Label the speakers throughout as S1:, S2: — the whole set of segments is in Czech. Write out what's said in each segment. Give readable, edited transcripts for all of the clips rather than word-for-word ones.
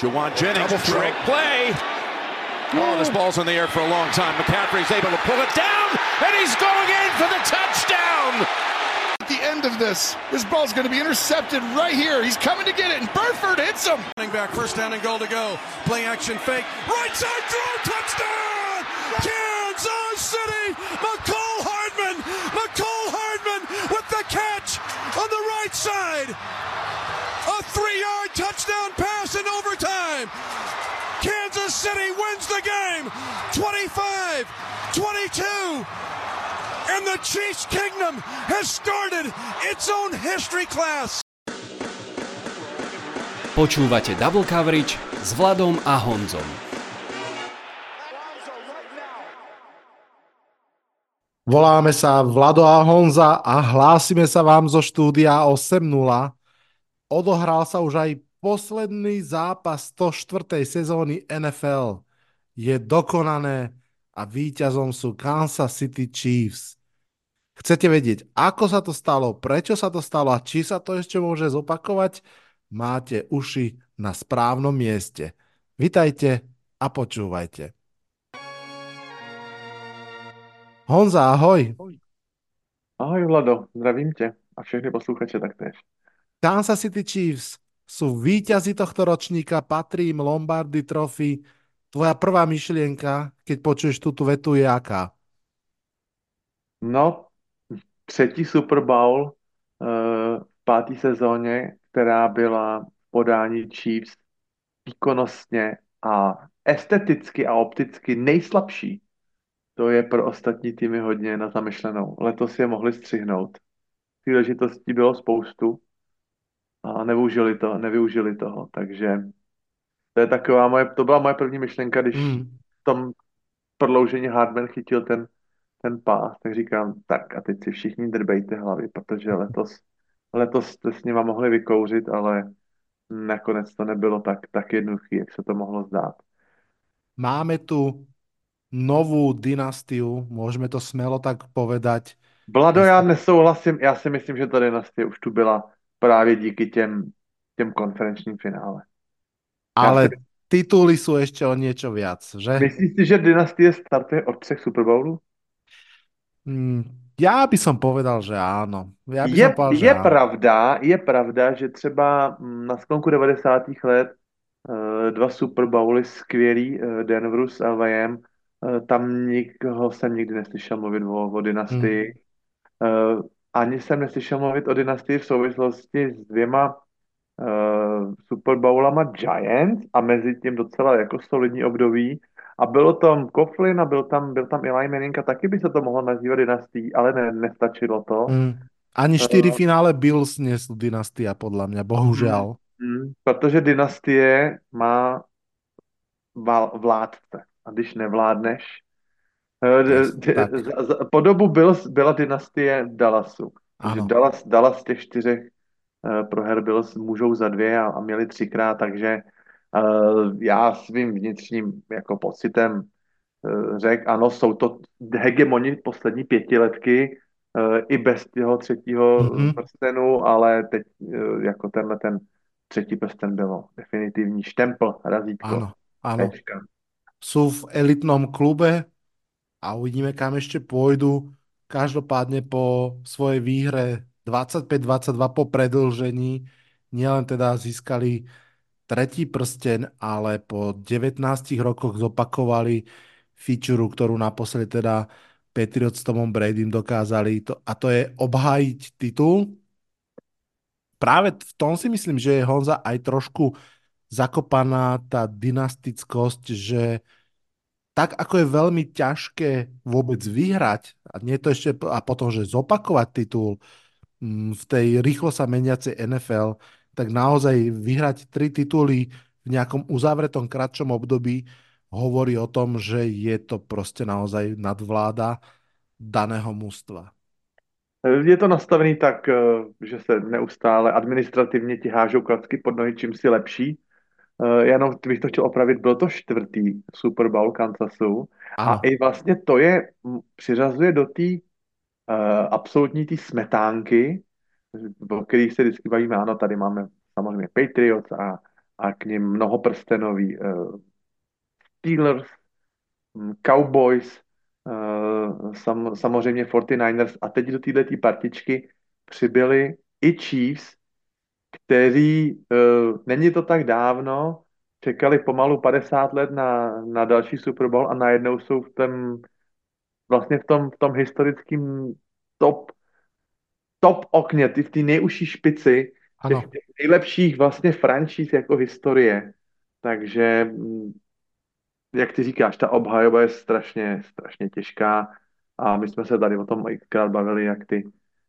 S1: Jawan Jennings, trick play. Oh, this ball's in the air for a long time. McCaffrey's able to pull it down, and he's going in for the touchdown.
S2: At the end of this ball's going to be intercepted right here. He's coming to get it, and Burford hits him.
S3: Running back, first down and goal to go. Play action fake. Right side throw, touchdown! Kansas City! McCall Hardman with the catch on the right side. A 3-yard touchdown pass in overtime. Kansas City wins the game 25-22. And the Chiefs Kingdom has started its own history class.
S4: Počúvate Double Coverage s Vladom a Honzom.
S5: Voláme sa Vlado a Honza a hlásime sa vám zo štúdia 8.0. Odohral sa už aj posledný zápas 104. sezóny NFL. Je dokonané a víťazom sú Kansas City Chiefs. Chcete vedieť, ako sa to stalo, prečo sa to stalo a či sa to ešte môže zopakovať? Máte uši na správnom mieste. Vitajte a počúvajte. Honza, ahoj.
S6: Ahoj Vlado, zdravím tě a všechny posluchače taktéž.
S5: Kansas City Chiefs sú víťazi tohto ročníka, patrí im Lombardy Trophy. Tvoja prvá myšlienka, keď počuješ túto vetu, je aká?
S6: No, třetí Super Bowl v páté sezóně, která byla v podání Chiefs výkonnostně a esteticky a opticky nejslabší. To je pro ostatní týmy hodně na zamyšlenou. Letos je mohli střihnout. Příležitostí bylo spoustu a nevyužili toho, takže to je taková to byla moje první myšlenka, když v tom prodloužení Hardman chytil ten pás, tak říkám, tak a teď si všichni drbejte hlavy, protože letos jste s nima mohli vykouřit, ale nakonec to nebylo tak jednoduché, jak se to mohlo zdát.
S5: Máme tu novú dynastiu, môžeme to smelo tak povedať.
S6: Vlado, já nesouhlasím, já si myslím, že ta dynastie už tu byla právě díky těm konferenčním finále.
S5: Ale tituly sú ešte o niečo viac, že?
S6: Myslíš si, že dynastie startuje od 3 Super Bowlu?
S5: Ja by som povedal, že áno.
S6: Je pravda, že třeba na sklonku 90. let 2 Super Bowly skvělý Denveru s LVM, tam nikoho jsem nikdy neslyšel mluvit o dynastii. Ani jsem neslyšel mluvit o dynastii v souvislosti s 2 Super Bowlama Giants a mezi tím docela jako solidní období. A bylo tam Coughlin a byl tam Eli Manning a taky by se to mohlo nazývat dynastií, ale nestačilo to.
S5: Ani 4 finále Bills nie sú dynastia, podľa mňa, bohužiaľ.
S6: Protože dynastie má vládce. A když nevládneš... Po dobu byla dynastie Dallasu. Dallas z těch 4 proher Bills můžou za 2 a měli 3krát, takže já svým vnitřním jako pocitem řekl, ano, jsou to hegemoni poslední 5letky i bez toho 3. prstenu, ale teď jako ten 3. prsten bylo definitivní štempl, razítko.
S5: Áno. Sú v elitnom klube a uvidíme, kam ešte pôjdu. Každopádne po svojej výhre 25-22 po predĺžení nielen teda získali 3. prsten, ale po 19 rokoch zopakovali fičuru, ktorú naposledy teda Patriots s Tomom Bradym dokázali. A to je obhájiť titul. Práve v tom si myslím, že je Honza aj trošku zakopaná tá dynastickosť, že tak ako je veľmi ťažké vôbec vyhrať a potom, že zopakovať titul v tej rýchlo sa meniacej NFL, tak naozaj vyhrať 3 tituly v nejakom uzavretom kratšom období hovorí o tom, že je to proste naozaj nadvláda daného mužstva.
S6: Je to nastavený tak, že se neustále administrativně ti hážou klacky pod nohy, čím si lepší. Jenom bych to chtěl opravit, byl to 4. Super Bowl Kansasu. Ano. A i vlastně to přiřazuje do té absolutní té smetánky, o kterých se vždycky bavíme. Ano, tady máme samozřejmě Patriots a k nim mnohoprstenový Steelers, Cowboys, samozřejmě 49ers a teď do této partičky přibyli i Chiefs, kteří, není to tak dávno, čekali pomalu 50 let na další Super Bowl a najednou jsou vlastně v tom historickém top okně, v té nejužší špici
S5: Áno.
S6: těch nejlepších vlastně franšíz jako historie. Takže, jak ty říkáš, ta obhajoba je strašně, strašně těžká a my jsme se tady o tom xkrát bavili, jak ty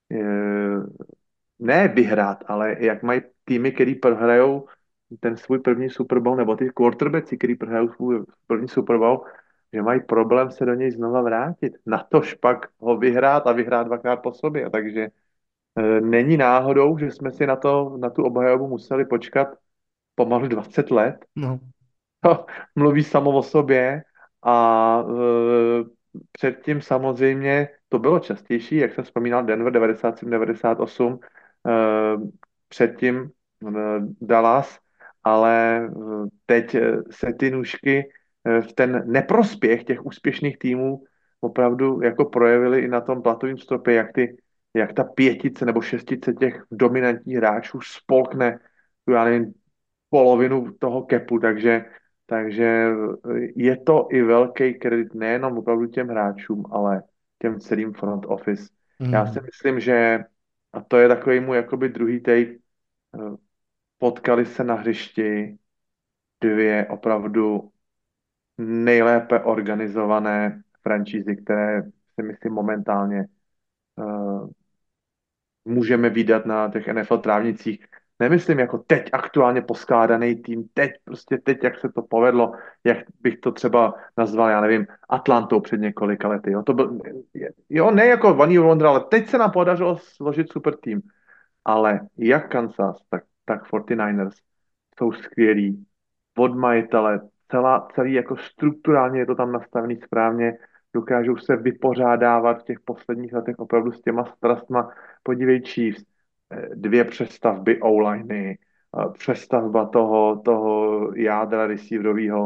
S6: ne vyhrát, ale jak mají týmy, který prohrajou ten svůj první Super Bowl, nebo ty quarterbacki, který prohrajou svůj první Super Bowl, že mají problém se do něj znova vrátit. Natož pak ho vyhrát a vyhrát dvakrát po sobě. Takže není náhodou, že jsme si na tu obhajobu museli počkat pomalu 20 let.
S5: No.
S6: To mluví samo o sobě a předtím samozřejmě to bylo častější, jak jsem vzpomínal, Denver 97-98, předtím Dallas, ale teď se ty nůžky v ten neprospěch těch úspěšných týmů opravdu jako projevily i na tom platovém stropě, jak ta pětice nebo šestice těch dominantních hráčů spolkne tu, já nevím, polovinu toho kepu, takže je to i velký kredit nejenom opravdu těm hráčům, ale těm celým front office. Já si myslím, že, a to je takový můj jakoby druhý take, potkali se na hřišti dvě opravdu nejlépe organizované franšízy, které si myslím momentálně můžeme vidět na těch NFL trávnicích. Nemyslím jako teď aktuálně poskládaný tým, teď, jak se to povedlo, jak bych to třeba nazval, já nevím, Atlantou před několika lety. Jo, to byl, jo, ne jako One Year Wonder, ale teď se nám podařilo složit super tým. Ale jak Kansas, tak 49ers jsou skvělí. Od majitele, celý jako strukturálně je to tam nastavený správně, dokážou se vypořádávat v těch posledních letech opravdu s těma strastma. Podívej Chiefs, dvě přestavby O-liney, přestavba toho jádra receiverového,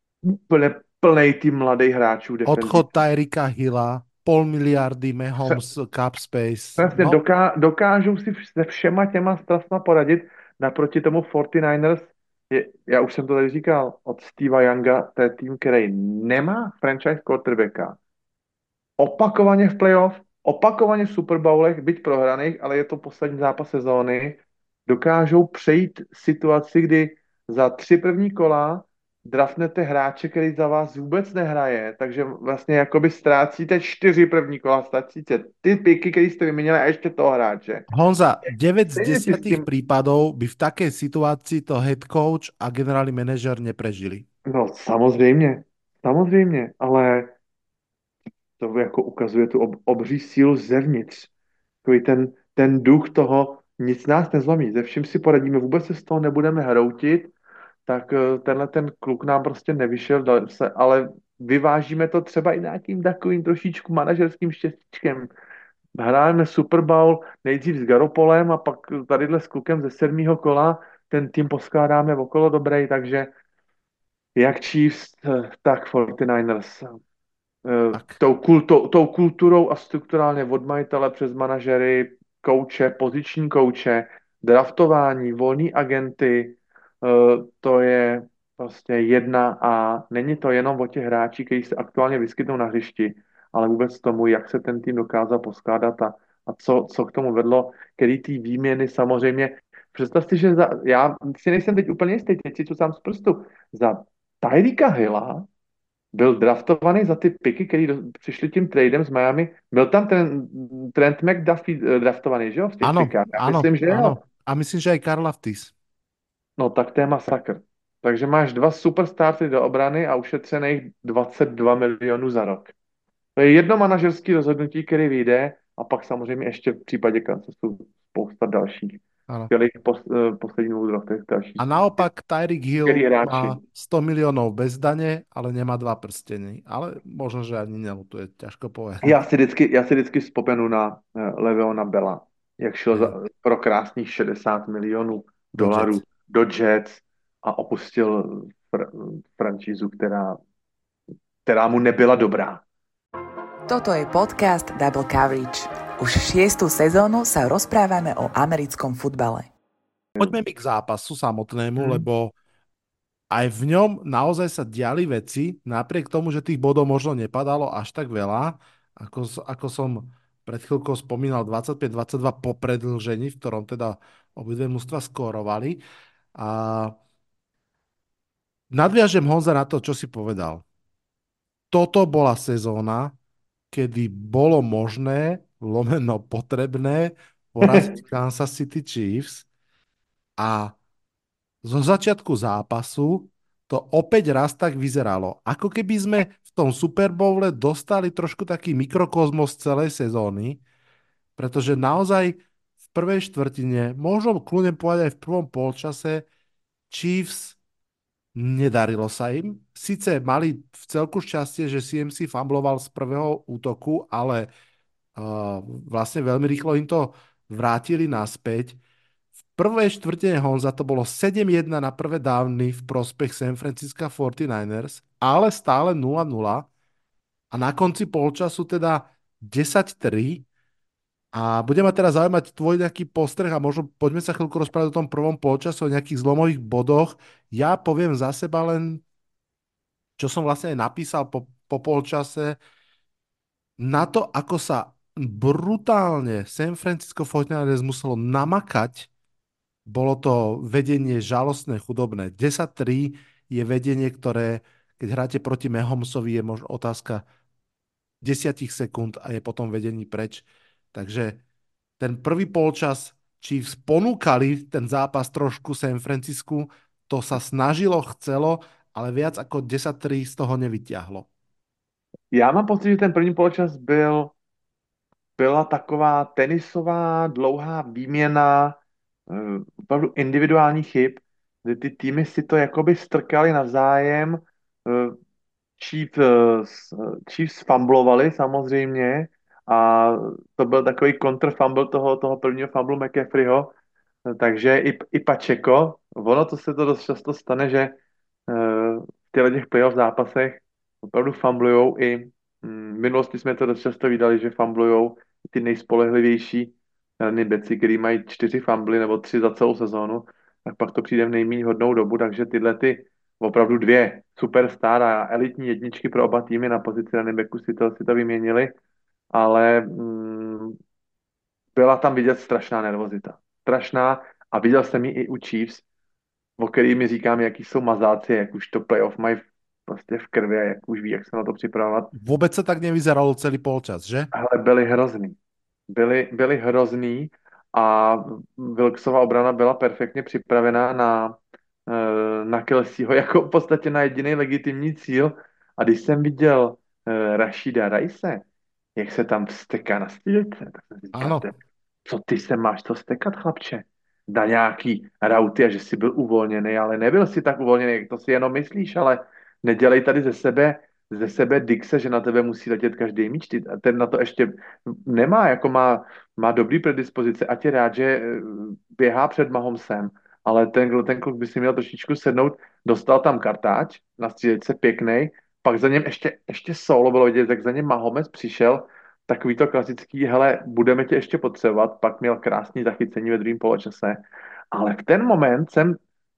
S6: plnej tým mladých hráčů.
S5: Odchod Tyrika Hilla, 500 miliardy Mahomes cap space.
S6: Přesně,
S5: No.
S6: dokážou si se všema těma strastma poradit. Naproti tomu 49ers, já už jsem to tady říkal, od Steva Younga, to je tým, který nemá franchise quarterbacka. Opakovaně v playoff, opakovaně v Super Bowlech, byť prohraných, ale je to poslední zápas sezóny, dokážou přejít situaci, kdy za 3 první kola draftnete hráče, který za vás vůbec nehraje, takže vlastně jakoby ztrácíte 4 první kola, ztrácíte ty piky, který jste vyměnili a ještě toho hráče.
S5: Honza, 9 z
S6: Stejne si
S5: 10
S6: s tým-
S5: prípadov by v takej situácii to head coach a generálny manažer neprežili.
S6: No samozřejmě, ale to jako ukazuje tu obří sílu zevnitř. Takový ten duch toho, nic nás nezlomí, ze vším si poradíme, vůbec se z toho nebudeme hroutit, tak tenhle ten kluk nám prostě nevyšel, ale vyvážíme to třeba i nějakým takovým trošičku manažerským štěstíčkem. Hrajeme Super Bowl nejdřív s Garoppolem a pak tadyhle s klukem ze 7. kola, ten tým poskládáme okolo dobrej, takže jak Chiefs, tak 49ers.
S5: Tak.
S6: Tou kulturou a strukturálně od majitele přes manažery, kouče, poziční kouče, draftování, volní agenty, to je prostě jedna a není to jenom o těch hráčích, kteří se aktuálně vyskytnou na hřišti, ale vůbec tomu, jak se ten tým dokázal poskládat a co k tomu vedlo, který ty výměny samozřejmě. Představ si, že já si nejsem teď úplně jistý, teď si to sám z prstu, za Tyrika Hilla byl draftovaný za ty piky, který přišli tím tradem z Miami. Byl tam ten Trent McDuffie draftovaný, že jo? V těch
S5: Áno,
S6: pikách. Já
S5: áno,
S6: myslím, že jo.
S5: áno. A myslím, že aj Karl Laftis.
S6: No tak to je masakr. Takže máš 2 superstarty do obrany a ušetřených 22 milionů za rok. To je jedno manažerské rozhodnutí, který vyjde a pak samozřejmě ještě v případě Kansasu spousta dalších.
S5: Áno.
S6: Skvělých posledních 2 letech dalších.
S5: A naopak Tyreek Hill
S6: Skvělí hráči.
S5: má 100 miliónov bez dane, ale nemá 2 prsteny. Ale možno, že ani nelutuje, ťažko povedať.
S6: Já si vždycky vzpomenu na Le'Veona Bella, jak šel pro krásných 60 milionů dolarů do Jets a opustil franšízu, která mu nebyla dobrá.
S7: Toto je podcast Double Coverage. Už 6. sezónu sa rozprávame o americkom futbale.
S5: Poďme mi k zápasu samotnému, lebo aj v ňom naozaj sa diali veci, napriek tomu, že tých bodov možno nepadalo až tak veľa, ako som pred chvíľkou spomínal 25-22 po predĺžení, v ktorom teda obidve mužstva skórovali. A nadviažem, Honza, na to, čo si povedal. Toto bola sezóna, kedy bolo možné, lomeno potrebné, poraziť Kansas City Chiefs a zo začiatku zápasu to opäť raz tak vyzeralo. Ako keby sme v tom Super Bowle dostali trošku taký mikrokozmos celej sezóny, pretože naozaj v prvej štvrtine, možno kľudne povedať aj v prvom polčase, Chiefs nedarilo sa im. Sice mali v celku šťastie, že CMC fumbloval z prvého útoku, ale vlastne veľmi rýchlo im to vrátili naspäť. V prvej štvrtine, Honza, to bolo 7-1 na prvé downy v prospech San Francisco 49ers, ale stále 0-0 a na konci polčasu teda 10-3 a bude ma teraz zaujímať tvoj nejaký postreh a možno poďme sa chvíľku rozprávať o tom prvom polčasu, o nejakých zlomových bodoch. Ja poviem za seba len, čo som vlastne aj napísal po polčase, na to, ako sa brutálne San Francisco 49ers muselo namakať. Bolo to vedenie žalostné, chudobné. 10-3 je vedenie, ktoré, keď hráte proti Mahomsovi, je možno otázka 10 sekúnd a je potom vedení preč. Takže ten prvý polčas Chiefs ponúkali ten zápas trošku San Francisku, to sa snažilo, chcelo, ale viac ako 10-3 z toho nevyťahlo.
S6: Já mám pocit, že ten první poločas byla taková tenisová dlouhá výměna opravdu individuálních chyb, kdy ty týmy si to jakoby strkali navzájem. Chiefs, Chiefs fumblovali samozřejmě a to byl takový kontrfumble toho prvního fumble McCaffreyho, takže i Pacheco, ono to se to dost často stane, že v těch playoff zápasech opravdu fumblujou i v minulosti jsme to dost často viděli, že fumblujou ty nejspolehlivější running backi, který mají 4 fumbly nebo 3 za celou sezónu, tak pak to přijde v nejméně hodnou dobu, takže tyhle ty opravdu 2 superstar a elitní jedničky pro oba týmy na pozici running backu si to vyměnili, ale byla tam vidět strašná nervozita. Strašná a viděl jsem ji i u Chiefs, o který mi říkám, jaký jsou mazáci, jak už to playoff mají prostě v krvi a jak už ví, jak se na to připravovat.
S5: Vůbec se tak nevyzeralo celý polčas, že?
S6: Ale byli hrozný. Byli hrozný a Wilksova obrana byla perfektně připravená na Kelseyho jako v podstatě na jediný legitimní cíl. A když jsem viděl Rashida Rice, jak se tam vsteká na střílece, tak jsem si říkal, co ty se máš to stekat, chlapče? Na nějaký rauty a že jsi byl uvolněný, ale nebyl si tak uvolněný, jak to si jenom myslíš, ale nedělej tady ze sebe Dixe, že na tebe musí letět každý míč. Ten na to ještě nemá, jako má dobrý predispozice, ať je rád, že běhá před Mahomsem, ale ten kluk by si měl trošičku sednout, dostal tam kartáč, na střílečce pěknej, pak za něm ještě solo bylo vidět, jak za něm Mahomes přišel, takový to klasický, hele, budeme tě ještě potřebovat, pak měl krásný zachycení ve druhém poločase, ale v ten moment jsem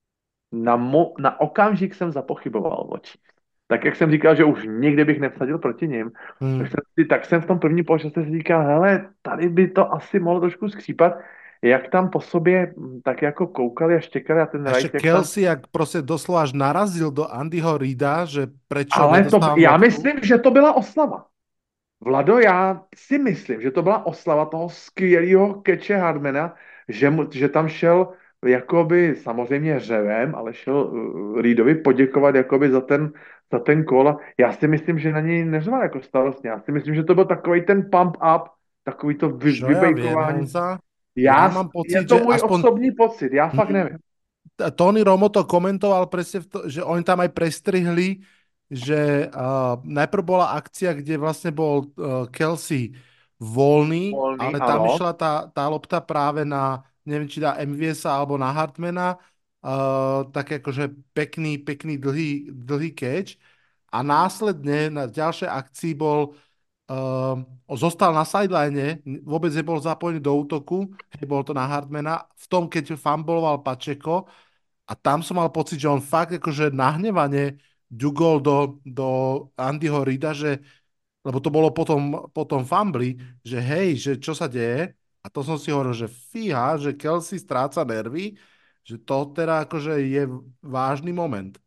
S6: na okamžik jsem zapochyboval o Chiefs. Tak jak jsem říkal, že už nikdy bych nevsadil proti nim, tak jsem v tom prvním poločase si říkal, hele, tady by to asi mohlo trošku skřípat, jak tam po sobě tak jako koukali a štěkali a ten
S5: Rice... Kelsey, jak prostě doslova až narazil do Andyho Reida, že prečo
S6: ale já myslím, že to byla oslava. Vlado, já si myslím, že to byla oslava toho skvělého keče Hardmana, že tam šel jakoby samozřejmě řevem, ale šel Reidovi poděkovat jakoby za ten kol. Já si myslím, že na něj neřval jako starostně. Já si myslím, že to byl takový ten pump up, takový to vybejkování.
S5: Ja mám pocit,
S6: je to můj osobní pocit, já fakt nevím.
S5: Tony Romo to komentoval presne, že oni tam aj prestrihli, že najprv bola akcia, kde vlastne bol Kelsey voľný, ale tam išla tá lopta práve na, neviem, či dá MVS alebo na Hartmana tak akože pekný dlhý catch a následne na ďalšej akcii zostal na sideline, vôbec nebol zapojený do útoku, hej, bol to na Hardmana, v tom, keď fumbloval Pacheco a tam som mal pocit, že on fakt akože nahnevane ďugol do Andyho Reida, že, lebo to bolo potom fumbli, že hej, že čo sa deje, a to som si hovoril, že fíha, že Kelsey stráca nervy, že to teda akože je vážny moment.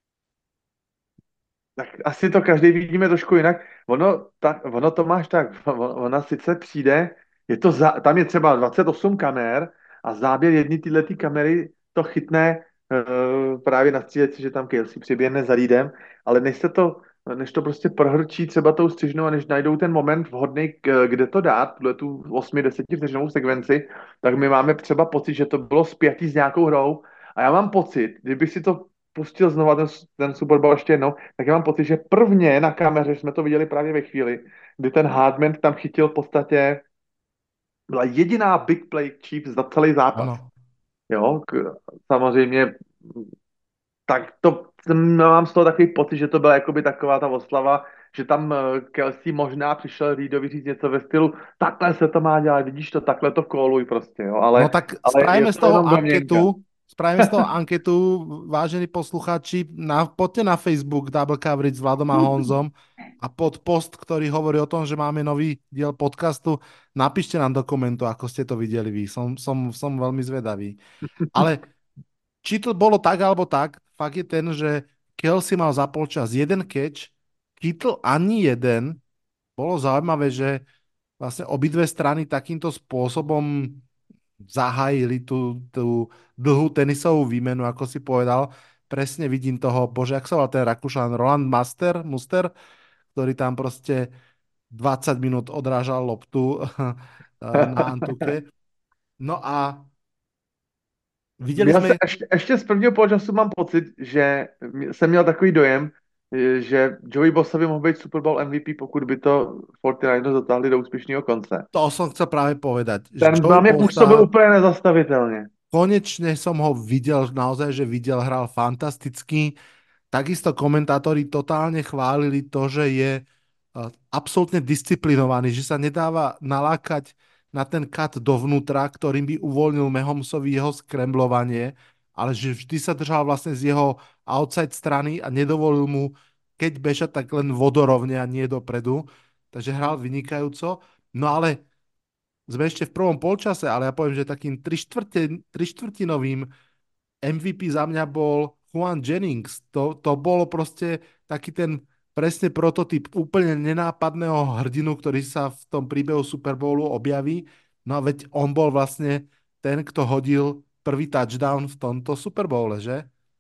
S6: Tak asi to každý vidíme trošku jinak. Ono to máš tak, ona sice přijde, tam je třeba 28 kamer a záběr jedny tyhle kamery to chytne právě na stříleci, že tam Kelsey přiběhne za Reedem, ale než to prostě prohrčí třeba tou střižnou a než najdou ten moment vhodný, kde to dát, tu 8-10 vteřinovou sekvenci, tak my máme třeba pocit, že to bylo spjatý s nějakou hrou a já mám pocit, kdybych si to pustil znova ten Super Bowl ještě jednou, tak já mám pocit, že prvně na kameře jsme to viděli právě ve chvíli, kdy ten Hardman tam chytil v podstatě, byla jediná big play Chiefs za celý zápas.
S5: Ano.
S6: Jo, samozřejmě tak to mám z toho takový pocit, že to byla jakoby taková ta oslava, že tam Kelsey možná přišel Reedovi říct něco ve stylu, takhle se to má dělat, vidíš to, takhle to kóluj prostě, jo,
S5: No tak
S6: ale je
S5: spravíme z
S6: to
S5: toho
S6: jenom domněnka.
S5: anketu, vážení poslucháči, poďte na Facebook Double Coverage s Vladom a Honzom a pod post, ktorý hovorí o tom, že máme nový diel podcastu, napíšte nám do komentu, ako ste to videli vy. Som veľmi zvedavý. Ale či to bolo tak, alebo tak, fakt je ten, že Kelsey mal za polčas jeden catch, Kittle ani jeden. Bolo zaujímavé, že vlastne obidve strany takýmto spôsobom zahájili tú dlhú tenisovú výmenu, ako si povedal. Presne vidím toho, bože, jak sa volal ten Rakúšan, Roland Muster, ktorý tam proste 20 minút odrážal loptu na Antuke. No a videli
S6: Já
S5: sme...
S6: se ještě z prvního poločasu mám pocit, že jsem měl takový dojem, že Joey Bosa by mohl být Super Bowl MVP, pokud by to 49ers dotáhli do úspěšného konce.
S5: To som chcel práve povedať. Že
S6: Ten
S5: Joey
S6: na mě působil
S5: Bosa,
S6: úplně nezastavitelně.
S5: konečne som ho videl, naozaj, že hral fantasticky. Takisto komentátori totálne chválili to, že je absolútne disciplinovaný, že sa nedáva nalákať na ten kat dovnútra, ktorým by uvoľnil Mahomsovi jeho skremblovanie, ale že vždy sa držal vlastne z jeho outside strany a nedovolil mu, keď bežať, tak len vodorovne a nie dopredu. Takže hral vynikajúco. No ale sme ešte v prvom polčase, ale ja poviem, že takým trištvrtinovým MVP za mňa bol Juan Jennings. To bolo proste taký ten presne prototyp úplne nenápadného hrdinu, ktorý sa v tom príbehu Super Bowlu objaví. No a veď on bol vlastne ten, kto hodil prvý touchdown v tomto Super Bowle, že?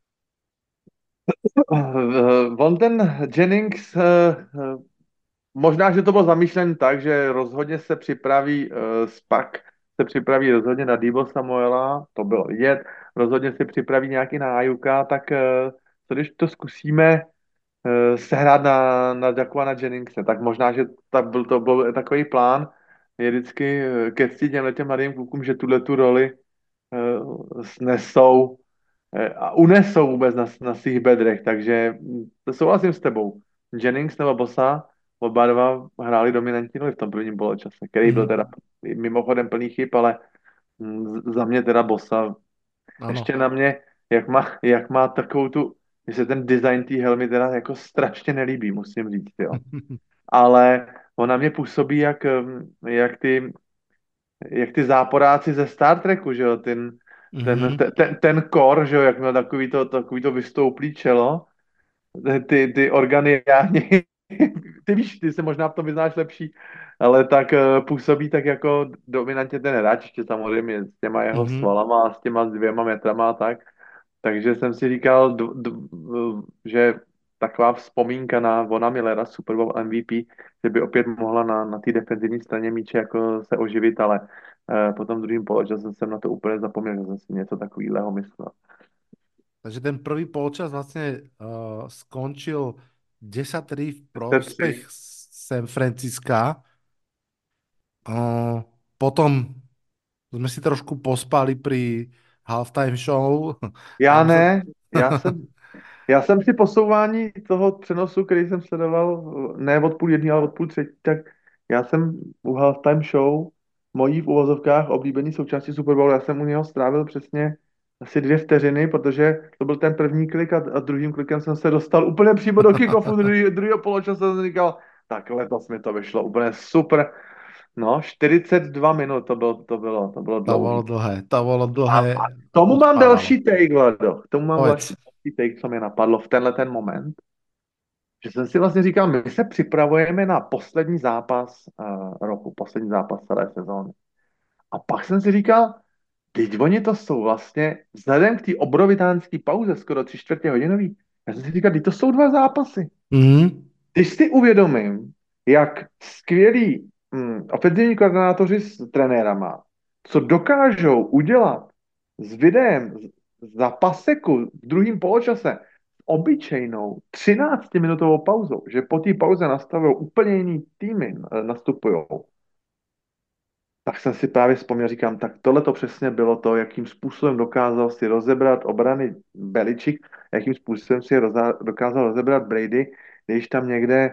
S6: On ten Jennings, možná, že to bylo zamýšleno tak, že rozhodně se připraví Spak, se připraví rozhodně na Deebo Samuela, to bylo vidět, rozhodně si připraví nějaký na Ajuka, tak co když to zkusíme sehrát na Jakuana Jenningse, tak možná, že to byl takový plán, je vždycky ke cti těm mladým klukům, že tu roli snesou a unesou vůbec na svých bedrech, takže to souhlasím s tebou. Jennings nebo Bosa, oba dva hráli dominantní roli v tom prvním poločase, který byl teda mimochodem plný chyb, ale za mě teda Bosa.
S5: Ano.
S6: Ještě na mě, jak má takovou mně se ten design té helmy teda jako strašně nelíbí, musím říct, jo. Ale ona mě působí jak ty záporáci ze Star Treku, že jo, ten kor, že jo, jak měl takový to vystouplý čelo, ty organy, ty víš, ty se možná v tom vyznáš lepší, ale tak působí tak jako dominantně ten hráč, ještě samozřejmě s těma jeho svalama a s těma 2 metrama a tak. Takže jsem si říkal, že taková vzpomínka na Vona Millera, Super Bowl MVP, že by opět mohla na té defenzivní straně míče jako se oživit, ale po tom druhém poločase jsem na to úplně zapomněl, že jsem si něco takového myslel.
S5: Takže ten prvý polčas vlastne skončil 10-3 v prospech San Francisca. Potom sme si trošku pospali pri halftime show.
S6: Já
S5: Tam sa...
S6: ne, já jsem si posouvání toho přenosu, který jsem sledoval, ne od půl jedné, ale od půl třetí, tak já jsem u halftime show, mojí v uvozovkách oblíbený součástí Super Bowlu, já jsem u něho strávil přesně asi 2 vteřiny, protože to byl ten první klik a druhým klikem jsem se dostal úplně přímo do kick-offu druhého poločasu a jsem říkal, tak letos mi to vyšlo úplně super. No, 42 minut to bylo
S5: To bolo
S6: dlouhý.
S5: dlhé, to bolo
S6: A
S5: dlhé.
S6: k tomu mám
S5: Uspávalo.
S6: další take, Vlado. K tomu mám
S5: Povedz.
S6: další take, co mě napadlo v tenhle ten moment. Že jsem si vlastně říkal, my se připravujeme na poslední zápas roku, poslední zápas celé sezóny. A pak jsem si říkal, teď oni to jsou vlastně, vzhledem k té obrovitánské pauze, skoro 3/4 hodinový, já jsem si říkal, teď to jsou 2 zápasy.
S5: Mm.
S6: Když si uvědomím, jak skvělí ofenzivní koordinátoři s trenérama, co dokážou udělat s videem za paseku v druhém poločase s obyčejnou 13-minutovou pauzou, že po té pauze nastavují úplně jiný týmy, nastupují, tak jsem si právě vzpomněl, říkám, tak tohle to přesně bylo to, jakým způsobem dokázal si rozebrat obrany Beličík, jakým způsobem si dokázal rozebrat Brady, když tam někde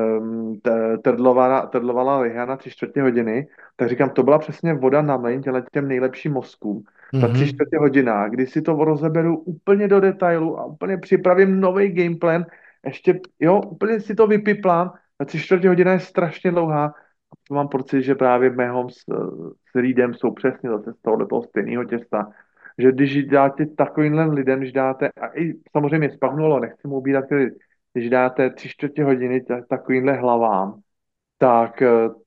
S6: trdlovala liha na 3/4 hodiny, tak říkám, to byla přesně voda na mlejn těm nejlepším mozkům. Za 3/4 hodina, kdy si to rozeberu úplně do detailu a úplně připravím nový gameplan, ještě, jo, úplně si to vypiplám, za 3/4 hodina je strašně dlouhá. Mám pocit, že právě Mahomes s Reedem jsou přesně zase z toho stejného těsta. Že když dáte takovýmhle lidem, když dáte, a i samozřejmě spavnulo, nechci mu ubírat kredit, když dáte 3/4 hodiny takovýmhle hlavám, tak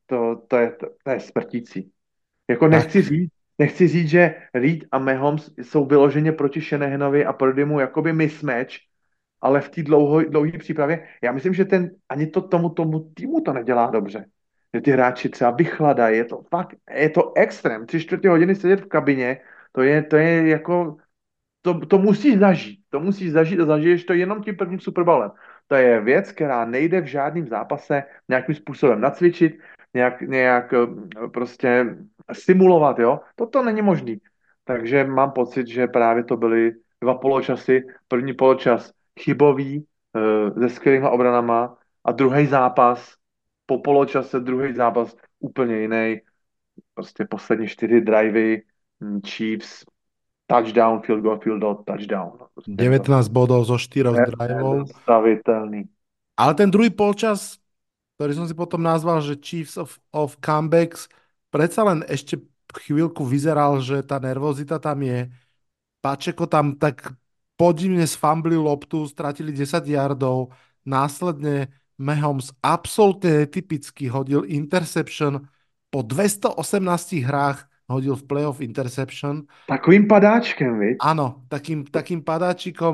S6: to je smrtící. Jako
S5: Tak.
S6: nechci říct, že Reed a Mahomes jsou vyloženě proti Shanahanovi a Purdymu jakoby mismatch, ale v té dlouhé přípravě, já myslím, že ani tomu týmu to nedělá dobře. Že ty hráči třeba vychladají, je to extrém. 3/4 hodiny sedět v kabině, to je jako, to musíš zažít. To musíš zažít a zažiješ to jenom tím prvním Super Bowlem. To je věc, která nejde v žádném zápase nějakým způsobem nacvičit, nějak prostě simulovat, jo. Toto není možný. Takže mám pocit, že právě to byly 2 poločasy. První poločas chybový, se skvělýma obranama a druhý zápas, po poločase druhý zápas úplně jiný. Prostě poslední 4 drivey, Chiefs, touchdown, field goal, touchdown. No, prostě
S5: 19 bodov zo 4 driveov.
S6: nezastavitelný.
S5: Ale ten druhý polčas, ktorý som si potom nazval, že Chiefs of Comebacks, predsa len ešte chvíľku vyzeral, že tá nervozita tam je. Pačeko tam tak podivne sfamblil loptu, stratili 10 yardov, následne Mahomes absolútne netypicky hodil interception, po 218 hrách hodil v playoff interception.
S6: Takovým padáčkem, viď?
S5: Áno, takým padáčikom,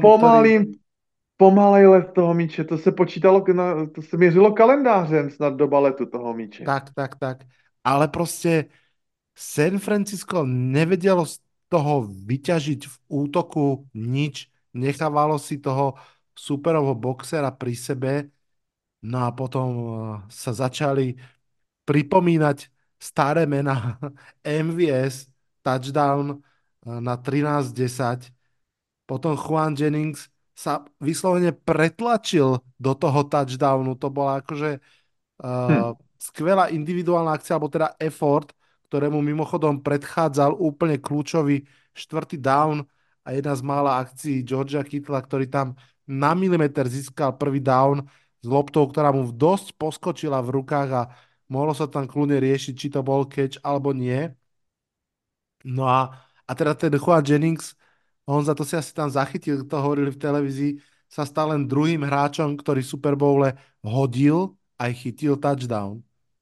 S6: Pomalej let toho míče, to se počítalo, to se měřilo kalendářem snad doba letu toho míče.
S5: Tak. Ale proste San Francisco nevedelo z toho vyťažiť v útoku nič, nechávalo si toho superovho boxera pri sebe, no a potom sa začali pripomínať staré mená. MVS, touchdown na 13-10, potom Juan Jennings sa vyslovene pretlačil do toho touchdownu, to bola akože skvelá individuálna akcia, alebo teda effort, ktorému mimochodom predchádzal úplne kľúčový 4. down a jedna z mála akcií Georgia Kittla, ktorý tam na milimeter získal prvý down s loptou, ktorá mu dosť poskočila v rukách a mohlo sa tam kľudne riešiť, či to bol catch alebo nie. No a teda ten Juan Jennings, on za to si asi tam zachytil, to hovorili v televízii, sa stal len druhým hráčom, ktorý v Super Bowle hodil aj chytil touchdown.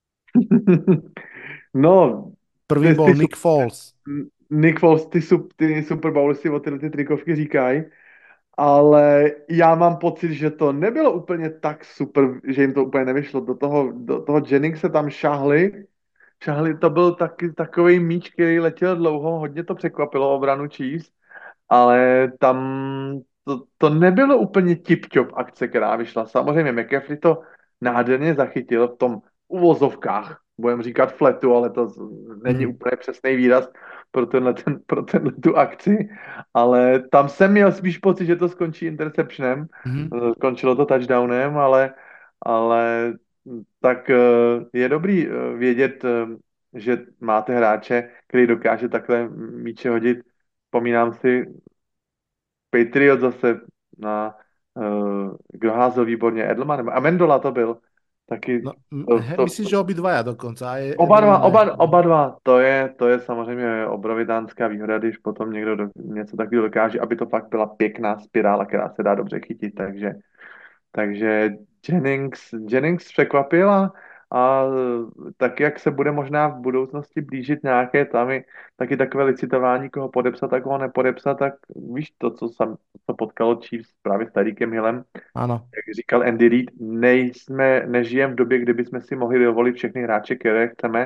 S6: No,
S5: prvý bol Nick Foles.
S6: Nick Foles, ty Super Bowly si o ty trikovky říkají, ale já mám pocit, že to nebylo úplně tak super, že jim to úplně nevyšlo. Do toho Jenningse tam šahli, to byl takový míč, který letěl dlouho, hodně to překvapilo obranu Chiefs, ale tam to nebylo úplně tip-top akce, která vyšla. Samozřejmě McCaffrey to nádherně zachytil v tom uvozovkách budeme říkat fletu, ale to není úplně přesný výraz pro tenhle tu akci, ale tam jsem měl spíš pocit, že to skončí interceptionem, skončilo to touchdownem, ale tak je dobrý vědět, že máte hráče, který dokáže takhle míče hodit. Vzpomínám si Patriot zase na kdo házel výborně, Edelman nebo Amendola to byl. Taky
S5: No,
S6: to,
S5: myslíš, že obidvaja dokonca? Aj
S6: oba dva, to je samozřejmě obrovitánská výhoda, když potom někdo něco takového dokáže, aby to fakt byla pěkná spirála, která se dá dobře chytit, takže Jennings překvapil a tak, jak se bude možná v budoucnosti blížit nějaké tam taky takové licitování, koho podepsat a koho nepodepsat, tak víš to, co potkalo Chiefs právě s Tyreekem Hillem,
S5: Áno.
S6: jak říkal Andy Reid, nežijeme v době, kdyby jsme si mohli dovolit všechny hráče, které chceme,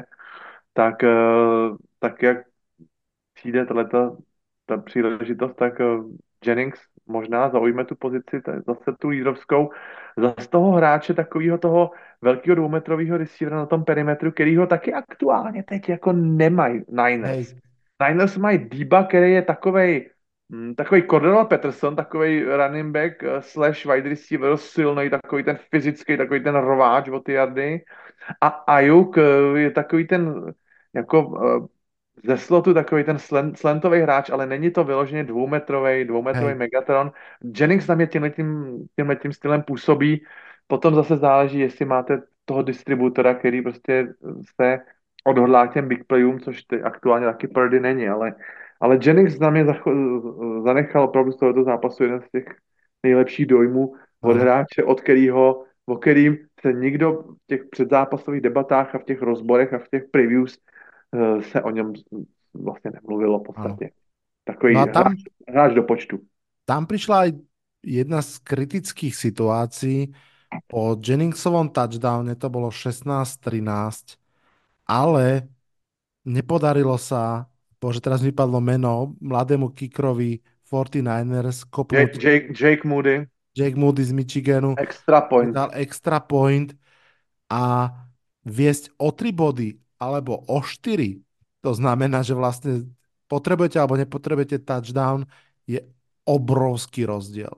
S6: tak jak přijde ta příležitost, tak Jennings možná zaujme tu pozici, zase tu lídrovskou, zase toho hráče, takového toho velkého dvoumetrového receivera na tom perimetru, který ho taky aktuálně teď jako nemají Niners.
S5: Hej.
S6: Niners mají Deba, který je takovej Cordell Patterson, takovej running back slash wide receiver, silný, takový ten fyzický, takový ten rváč o ty yardy. A Ayuk je takový ten jako ze slotu takový ten slantový hráč, ale není to vyloženě dvoumetrový Megatron. Jennings na mě tímhletím stylem působí. Potom zase záleží, jestli máte toho distributora, který prostě se odhodlá k těm big playům, což aktuálně taky Purdy není, ale Jennings na mě zanechal opravdu z tohoto zápasu jeden z těch nejlepších dojmů od hráče, o kterým se nikdo v těch předzápasových debatách a v těch rozborech a v těch previews se o něm vlastně nemluvilo v podstatě. Ano. Takový
S5: no
S6: hráč do počtu.
S5: Tam prišla aj jedna z kritických situácií. Po Jenningsovom touchdowne to bolo 16-13, ale nepodarilo sa, bože, teraz vypadlo meno, mladému kickerovi 49ers kopnúť
S6: Jake Moody.
S5: Jake Moody z Michiganu. Dal extra point a viesť o 3 body alebo o 4. To znamená, že vlastne potrebujete alebo nepotrebujete touchdown, je obrovský rozdíl.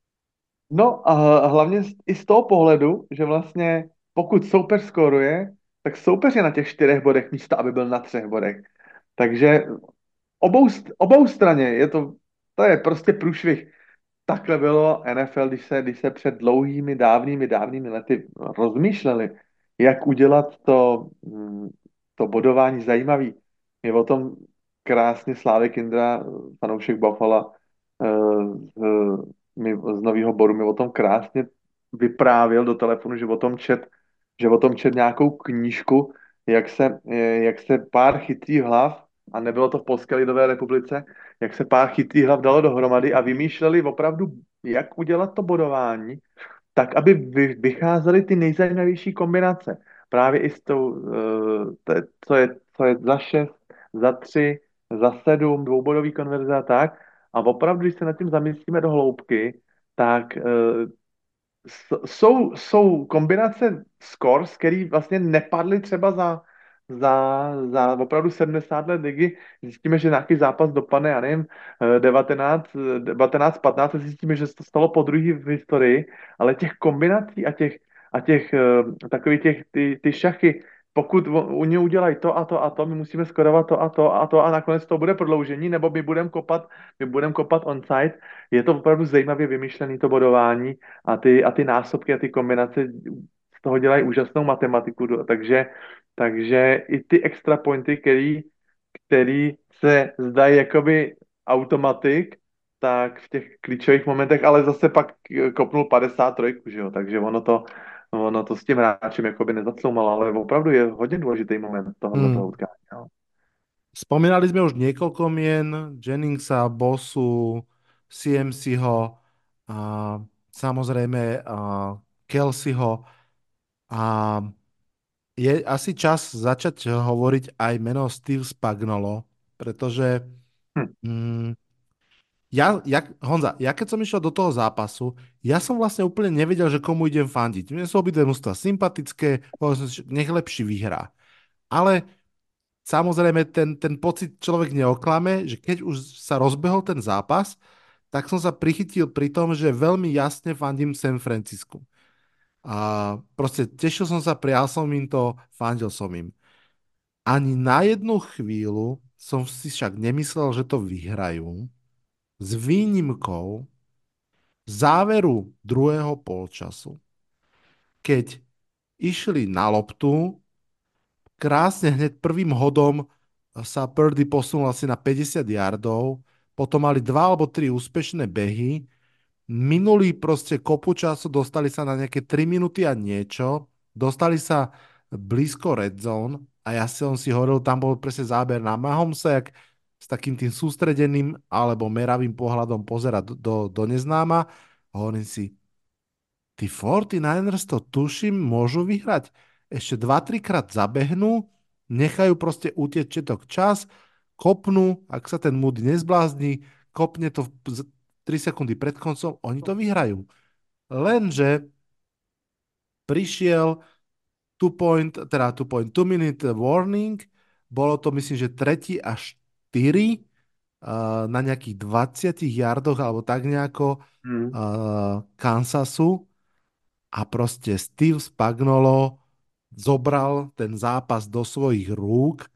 S6: No a hlavně i z toho pohledu, že vlastně pokud soupeř skóruje, tak soupeř je na těch 4 bodech místo, aby byl na 3 bodech. Takže obou straně to je prostě průšvih. Takhle bylo NFL, když se před dlouhými, dávnými lety rozmýšleli, jak udělat to bodování zajímavý. Je o tom krásně Slávek Indra, fanoušek Buffalo z Nového Boru, mi o tom krásně vyprávěl do telefonu, že o tom čet nějakou knížku, jak se pár chytrých hlav, a nebylo to v Polské lidové republice, jak se pár chytrých hlav dalo dohromady a vymýšleli opravdu, jak udělat to bodování, tak, aby vycházely ty nejzajímavější kombinace. Právě i s tou, co je za 6, za 3, za 7, dvoubodový konverze a tak. A opravdu, když se nad tím zamyslíme do hloubky, tak jsou kombinace scores, které vlastně nepadly třeba za opravdu 70 let ligy. Zjistíme, že nějaký zápas dopadne, já nevím, 19-15, zjistíme, že se to stalo po druhý v historii, ale těch kombinací a těch takových ty šachy, pokud oni udělají to a to a to, my musíme skorovat to a to a to a nakonec to bude prodloužení, nebo my budeme kopat onside. Je to opravdu zajímavě vymyšlené to bodování a ty násobky a ty kombinace z toho dělají úžasnou matematiku, takže i ty extra pointy, který se zdají jakoby automatik, tak v těch klíčových momentech, ale zase pak kopnul 53, že jo, takže ono to s tím hráčem jakoby nezacloumalo, ale opravdu je hodně důležitý moment toho utkání. No.
S5: Spomínali sme už niekoľko mien, Jenningsa, Bossu, CMCho, a samozrejme Kelseyho, a je asi čas začať hovoriť aj meno Steve Spagnuolo, pretože Honza, ja keď som išiel do toho zápasu, ja som vlastne úplne nevedel, že komu idem fandiť. Mne sú obidve mužstvá sympatické, nech lepší vyhrá. Ale samozrejme ten pocit človek neoklame, že keď už sa rozbehol ten zápas, tak som sa prichytil pri tom, že veľmi jasne fandím San Francisku. A proste tešil som sa, prijal som im to, fandil som im. Ani na jednu chvíľu som si však nemyslel, že to vyhrajú. S výnimkou záveru druhého polčasu, keď išli na loptu, krásne hneď prvým hodom sa Purdy posunul asi na 50 yardov, potom mali 2 alebo 3 úspešné behy, minuli proste kopu času, dostali sa na nejaké 3 minúty a niečo, dostali sa blízko red zone a ja som si hovoril, tam bol presne záber na Mahomesa, jak s takým tým sústredeným alebo meravým pohľadom pozerať do neznáma. Hovorím si, tí 49ers to tuším, môžu vyhrať. Ešte 2-3 krát zabehnú, nechajú proste utieť četok čas, kopnú, ak sa ten Moody nezblázni, kopne to 3 sekundy pred koncom, oni to vyhrajú. Lenže prišiel 2 minute warning, bolo to myslím, že 3. a 4 na nejakých 20 yardoch alebo tak nejako Kansasu. A proste Steve Spagnuolo zobral ten zápas do svojich rúk.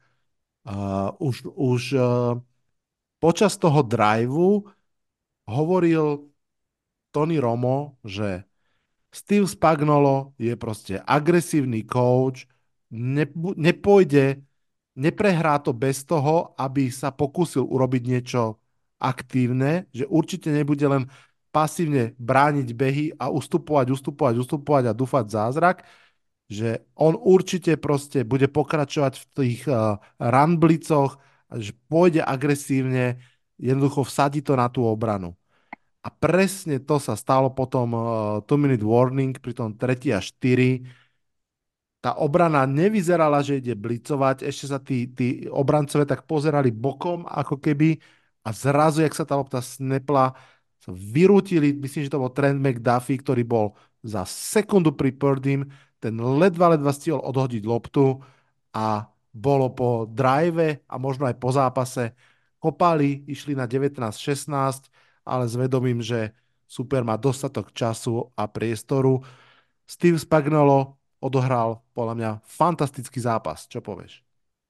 S5: Už počas toho driveu hovoril Tony Romo, že Steve Spagnuolo je proste agresívny coach, nepôjde, neprehrá to bez toho, aby sa pokúsil urobiť niečo aktívne, že určite nebude len pasívne brániť behy a ustupovať a dúfať zázrak, že on určite proste bude pokračovať v tých run blicoch, že pôjde agresívne, jednoducho vsadí to na tú obranu. A presne to sa stalo potom 2-minute warning pri tom 3. a 4. Tá obrana nevyzerala, že ide blicovať, ešte sa tí obrancové tak pozerali bokom, ako keby, a zrazu, jak sa tá lopta snepla, sa vyrútili, myslím, že to bol Trent McDuffie, ktorý bol za sekundu pri Purdym, ten ledva stihol odhodiť loptu a bolo po drive a možno aj po zápase. Kopali, išli na 19-16, ale s vedomím, že super má dostatok času a priestoru. Steve Spagnuolo odohral podľa mňa fantastický zápas. Čo povieš?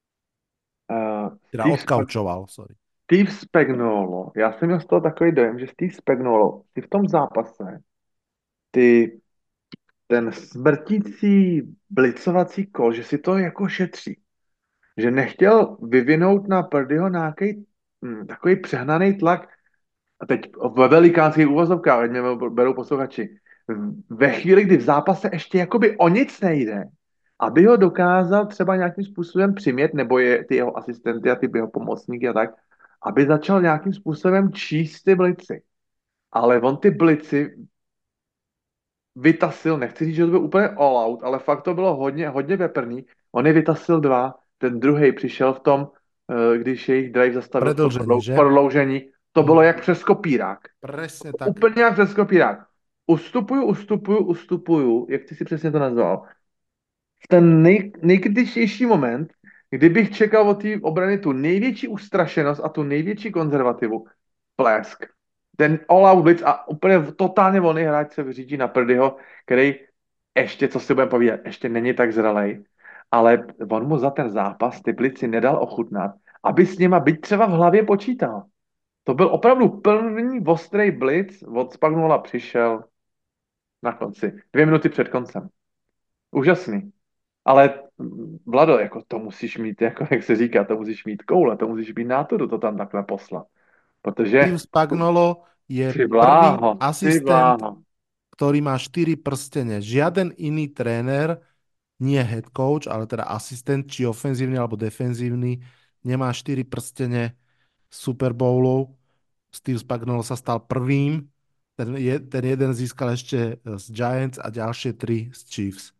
S5: Teda odkaučoval, sorry.
S6: Steve Spagnuolo, já jsem měl z toho takový dojem, že Steve Spagnuolo si v tom zápase ten smrtící blicovací kol, že si to jako šetří. Že nechtěl vyvinout na Purdyho nějaký takový přehnaný tlak, a teď ve velikánských úvozovkách, ať mě berou posluchači, ve chvíli, kdy v zápase ještě jakoby o nic nejde, aby ho dokázal třeba nějakým způsobem přimět, nebo je ty jeho asistenty a ty jeho pomocníky a tak, aby začal nějakým způsobem číst ty blici. Ale on ty blici vytasil, nechci říct, že to byl úplně all out, ale fakt to bylo hodně veprný. On je vytasil 2, ten druhý přišel v tom, když jejich drive zastavil v prodloužení. To bylo jak přes kopírák.
S5: Presne tak.
S6: Úplně jak přes kopírák. Ustupuju, jak ty si přesně to nazval. V ten nejkritičtější moment, kdybych čekal od té obrany tu největší ustrašenost a tu největší konzervativu, plesk. Ten all-out blitz a úplně totálně volný hráč se vyřídí na Purdyho, který ještě, co si budeme povídat, ještě není tak zralej, ale on mu za ten zápas ty blici nedal ochutnat, aby s nima byť třeba v hlavě počítal. To byl opravdu plný ostrý blitz, od Spagnuola přišel na konci, 2 minuty před koncem. Úžasný. Ale Vlado, jako to musíš mít, jako jak se říká, to musíš mít koule, to musíš mít nátodu to tam takhle poslat. Protože
S5: Steve Spagnuolo je prvý asistent, ktorý má 4 prstene. Žiaden iný tréner, nie head coach, ale teda asistent, či ofenzívny alebo defenzívny, nemá 4 prstene Super Bowlov. Steve Spagnuolo sa stal prvým. Ten jeden získal ešte z Giants a ďalšie 3 z Chiefs.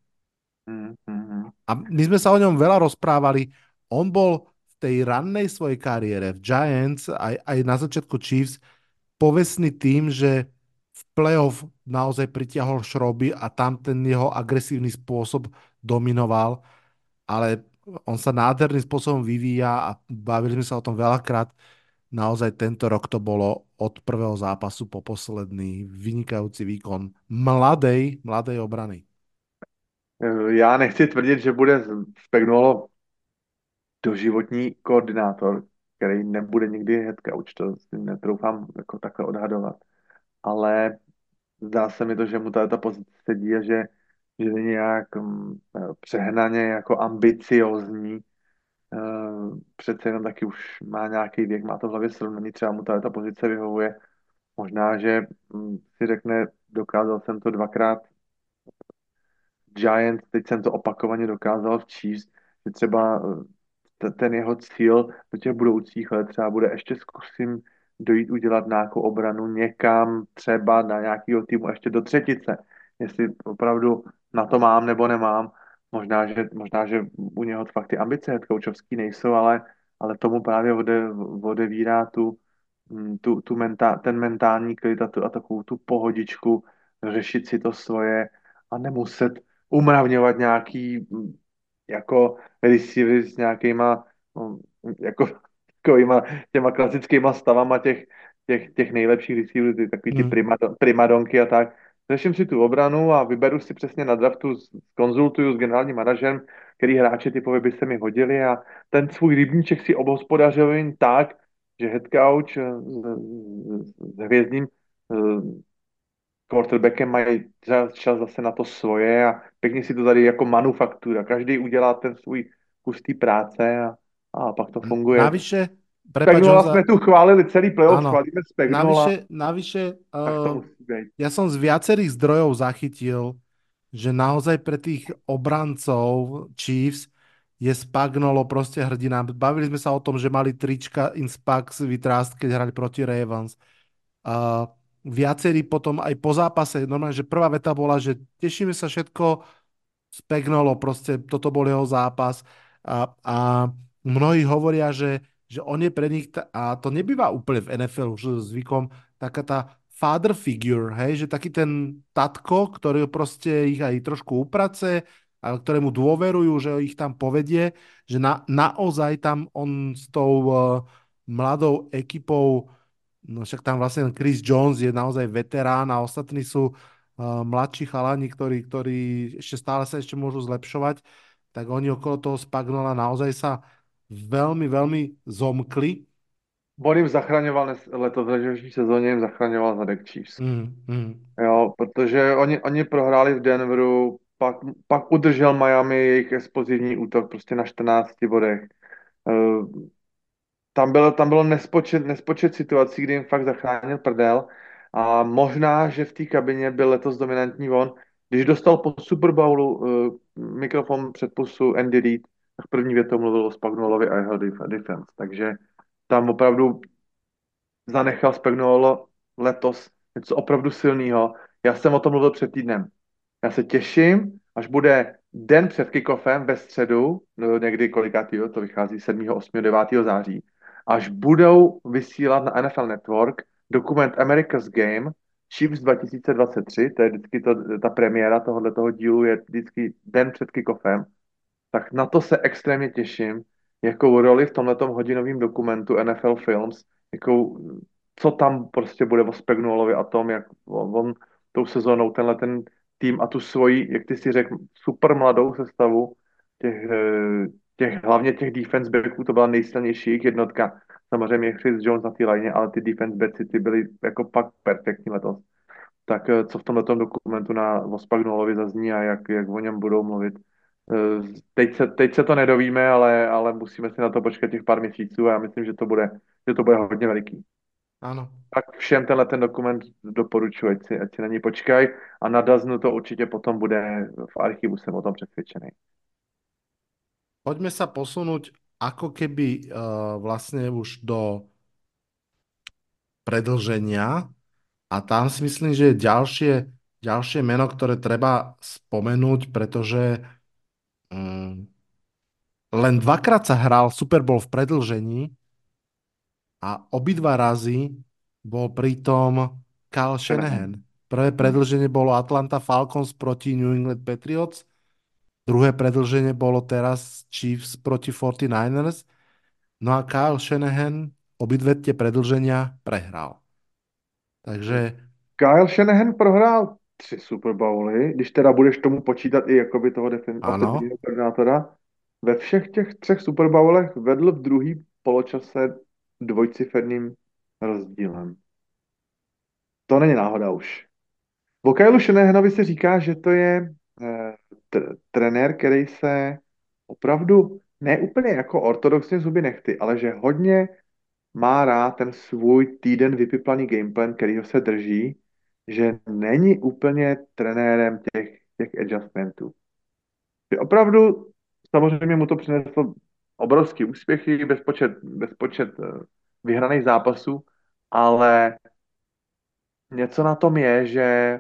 S5: A my sme sa o ňom veľa rozprávali. On bol v tej rannej svojej kariére v Giants aj na začiatku Chiefs povestný tým, že v playoff naozaj pritiahol šroby a tam ten jeho agresívny spôsob dominoval. Ale on sa nádherným spôsobom vyvíja a bavili sme sa o tom veľakrát. Naozaj tento rok to bolo od prvého zápasu po posledný vynikajúci výkon mladej obrany.
S6: Já nechci tvrdit, že bude Spagnuolo doživotní koordinátor, který nebude nikdy head coach, to si netroufám jako takhle odhadovat. Ale zdá se mi to, že mu ta pozice sedí a že není nějak přehnaně jako ambiciozní. Přece jenom taky už má nějaký věk, má to v hlavě srovnaný, třeba mu ta pozice vyhovuje. Možná, že si řekne, dokázal jsem to dvakrát Giants, teď jsem to opakovaně dokázal v Chiefs, že třeba ten jeho cíl do těch budoucích let třeba bude ještě zkusím dojít udělat nějakou obranu někam, třeba na nějakého týmu ještě do třetice. Jestli opravdu na to mám nebo nemám. Možná, že u něho fakt ty ambice headcoachovský nejsou, ale tomu právě odevírá ten mentální klid a takovou tu pohodičku, řešit si to svoje a nemuset umravňovat nějaký jako receivery s nějakýma jako takovýma těma klasickýma stavama těch nejlepších receiverů, takový ty primadonky a tak. Řeším si tu obranu a vyberu si přesně na draftu, konzultuju s generálním manažerem, který hráče typově by se mi hodili a ten svůj rybníček si obhospodařuju tak, že head coach s hvězdným quarterbackem mají čas zase na to svoje a pěkně si to tady jako manufaktura. Každý udělá ten svůj kus té práce a pak to funguje.
S5: Navyše,
S6: Spagnola jsme tu chválili celý playoff,
S5: áno,
S6: chválíme Spagnola.
S5: navyše
S6: Tak to musí být.
S5: ja som z viacerých zdrojov zachytil, že naozaj pre tých obrancov Chiefs je Spagnolo proste hrdina. Bavili sme sa o tom, že mali trička in Spags vytrásť, keď hrali proti Ravens. Viacerí potom aj po zápase, normálne, že prvá veta bola, že tešíme sa všetko, Spagnolo, proste toto bol jeho zápas a mnohí hovoria, že on je pre nich, a to nebýva úplne v NFL už zvykom, taká tá father figure, hej, že taký ten tatko, ktorý proste ich aj trošku uprace, ale ktorému dôverujú, že ich tam povedie, že naozaj tam on s tou mladou ekipou, no však tam vlastne Chris Jones je naozaj veterán a ostatní sú mladší chalani, ktorí ešte stále sa ešte môžu zlepšovať, tak oni okolo toho Spagnola naozaj sa veľmi, veľmi zomkli.
S6: On jim zachraňoval letos v letošní sezóně, jim zachraňoval zadek Chiefs. Jo, protože oni prohráli v Denveru, pak udržel Miami jejich explozivní útok prostě na 14 bodech. Tam bylo nespočet situací, kdy jim fakt zachránil prdel a možná, že v té kabině byl letos dominantní on. Když dostal po Super Bowlu mikrofon před pusu Andy Reid, tak první větou mluvil o Spagnuolovi a jeho defense. Takže tam opravdu zanechal Spagnuolo letos něco opravdu silného. Já jsem o tom mluvil před týdnem. Já se těším, až bude den před kickoffem ve středu, no někdy kolikátýho, to vychází 7., 8., 9. září, až budou vysílat na NFL Network dokument America's Game Chiefs 2023, to je vždycky ta premiéra tohoto dílu, je vždycky den před kickoffem, tak na to se extrémně těším, jakou roli v tomhletom hodinovém dokumentu NFL Films, co tam prostě bude o Spagnuolovi a tom, jak on tou sezónou ten tým a tu svoji, jak ty si řekl, super mladou sestavu, hlavně těch defense backů, to byla nejsilnější jejich jednotka. Samozřejmě Chris Jones na té lině, ale ty defense backy ty byly jako pak perfektní letos. Tak co v tomhletom dokumentu o Spagnuolovi zazní a jak o něm budou mluvit. Teď se to nedovíme, ale musíme si na to počkat těch pár měsíců a já myslím, že to bude hodně veliký.
S5: Áno.
S6: Tak všem ten dokument doporučuji, ať si na ní počkaj a na Daznu to určitě potom bude v archivu, jsem o tom přesvědčený.
S5: Poďme sa posunúť ako keby vlastne už do predĺženia a tam si myslím, že je ďalšie meno, ktoré treba spomenúť, pretože len dvakrát sa hral Super Bowl v predĺžení a obidva razy bol pritom Kyle Shanahan. Prvé predĺženie bolo Atlanta Falcons proti New England Patriots Druhé predĺženie bolo teraz Chiefs proti 49ers. No a Kyle Shanahan obidve tie predĺženia prehral. Takže
S6: Kyle Shanahan prohrál 3 Super Bowly, když teda budeš tomu počítat i jakoby toho
S5: áno.
S6: ofenzivního koordinátora. Ve všech těch 3 Super Bowlech vedl v druhý poločase dvojciferným rozdílem. To není náhoda už. O Kyle Shanahanovi se říká, že to je trenér, který se opravdu ne úplně jako ortodoxně zuby nechty, ale že hodně má rád ten svůj týden vypiplaný gameplan, kterýho se drží, že není úplně trenérem těch adjustmentů. Že opravdu samozřejmě mu to přineslo obrovský úspěchy, bezpočet vyhraných zápasů, ale něco na tom je, že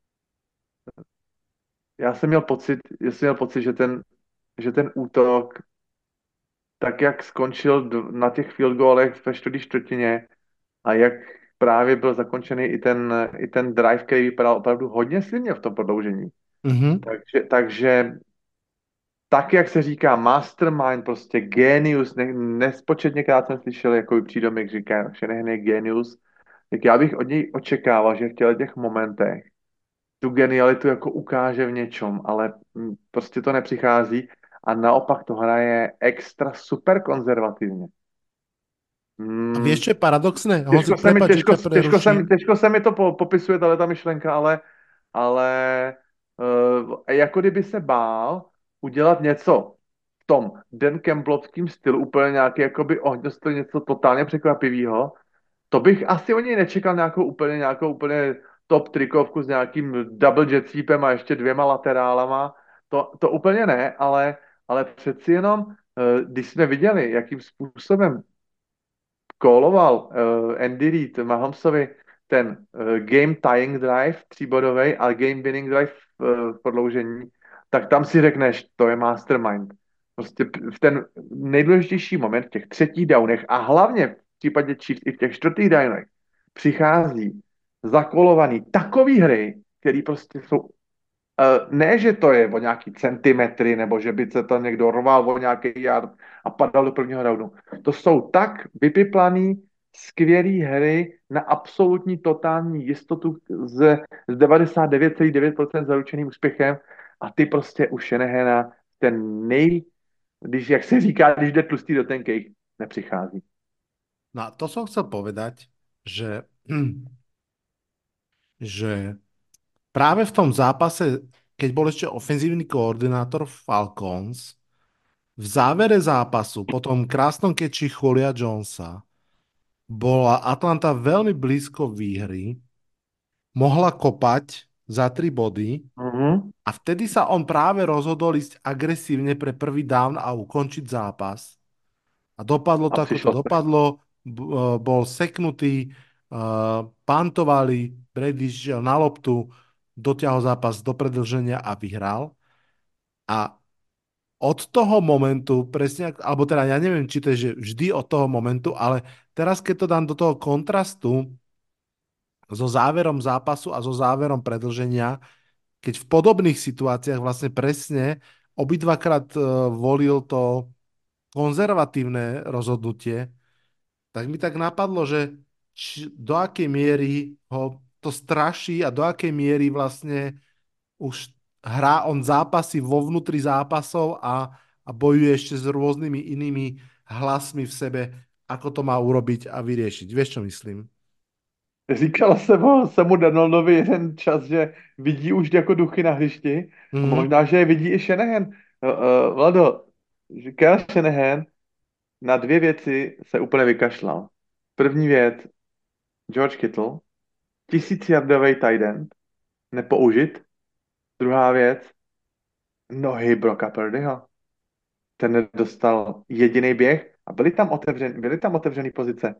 S6: já jsem měl pocit, že ten útok, tak jak skončil na těch field goalech ve čtvrtý čtvrtině a jak právě byl zakončený i ten drive, který vypadal opravdu hodně silně v tom prodloužení.
S5: Mhm.
S6: Takže tak, jak se říká mastermind, prostě genius, nespočetněkrát jsem slyšel jako přídomek, říká, že je genius, tak já bych od něj očekával, že v těch momentech tu genialitu jako ukáže v něčem, ale prostě to nepřichází a naopak to hraje extra super konzervativně.
S5: A
S6: Mm,
S5: vieš, čo je paradoxné? Honzi, prepáč, že ťa preruším.
S6: těžko se mi to popisuje, ta myšlenka, ale jako kdyby se bál udělat něco v tom Dan Campbellovským stylu, úplně nějaký jakoby ohňostlý, něco totálně překvapivého. To bych asi o něj nečekal nějakou úplně top trikovku s nějakým double jet sweepem a ještě 2 laterálama. To úplně ne, ale přeci jenom, když jsme viděli, jakým způsobem kóloval Andy Reid Mahomesovi ten game tying drive 3bodový a game winning drive v prodloužení, tak tam si řekneš, to je mastermind. Prostě v ten nejdůležitější moment v těch třetích downech a hlavně v případě Chiefs i v těch čtvrtých downech přichází zakolovaný takový hry, který prostě jsou ne, že to je o nějaký centimetry, nebo že by se tam někdo rval o nějaký yard a padal do prvního roundu. To jsou tak vypiplaný, skvělý hry na absolutní totální jistotu s 99,9% zaručeným úspěchem a ty prostě u Shanahana jak se říká, když jde tlustý do tenkej, nepřichází.
S5: No a to som chcel povedať, že, že práve v tom zápase, keď bol ešte ofenzívny koordinátor Falcons, v závere zápasu, po tom krásnom keči Julia Jonesa, bola Atlanta veľmi blízko výhry, mohla kopať za 3 body
S6: Mhm.
S5: a vtedy sa on práve rozhodol ísť agresívne pre prvý down a ukončiť zápas. A dopadlo
S6: A
S5: to, ako to
S6: přišlo to.
S5: dopadlo. Bol seknutý, pantovali, Brady šiel na loptu, dotiahol zápas do predĺženia a vyhral. A od toho momentu, presne, alebo teda ja neviem, či to je že vždy od toho momentu, ale teraz, keď to dám do toho kontrastu so záverom zápasu a so záverom predĺženia, keď v podobných situáciách vlastne presne obidvakrát volil to konzervatívne rozhodnutie, tak mi tak napadlo, že do akej miery ho to straší a do akej miery vlastne už hrá on zápasy vo vnútri zápasov a bojuje ešte s rôznymi inými hlasmi v sebe, ako to má urobiť a vyriešiť. Vieš, čo myslím?
S6: Říkal jsem mu Donaldovi jeden čas, že vidí už jako duchy na hřišti a
S5: Mhm.
S6: možná, že je vidí i Shanahan. Vlado, Kyle Shanahan na 2 věci se úplně vykašlal. První věc, George Kittle, 1000yardový tight end, nepoužit. Druhá věc, nohy Brocka Purdyho. Ten nedostal jediný běh a byly tam otevřený pozice.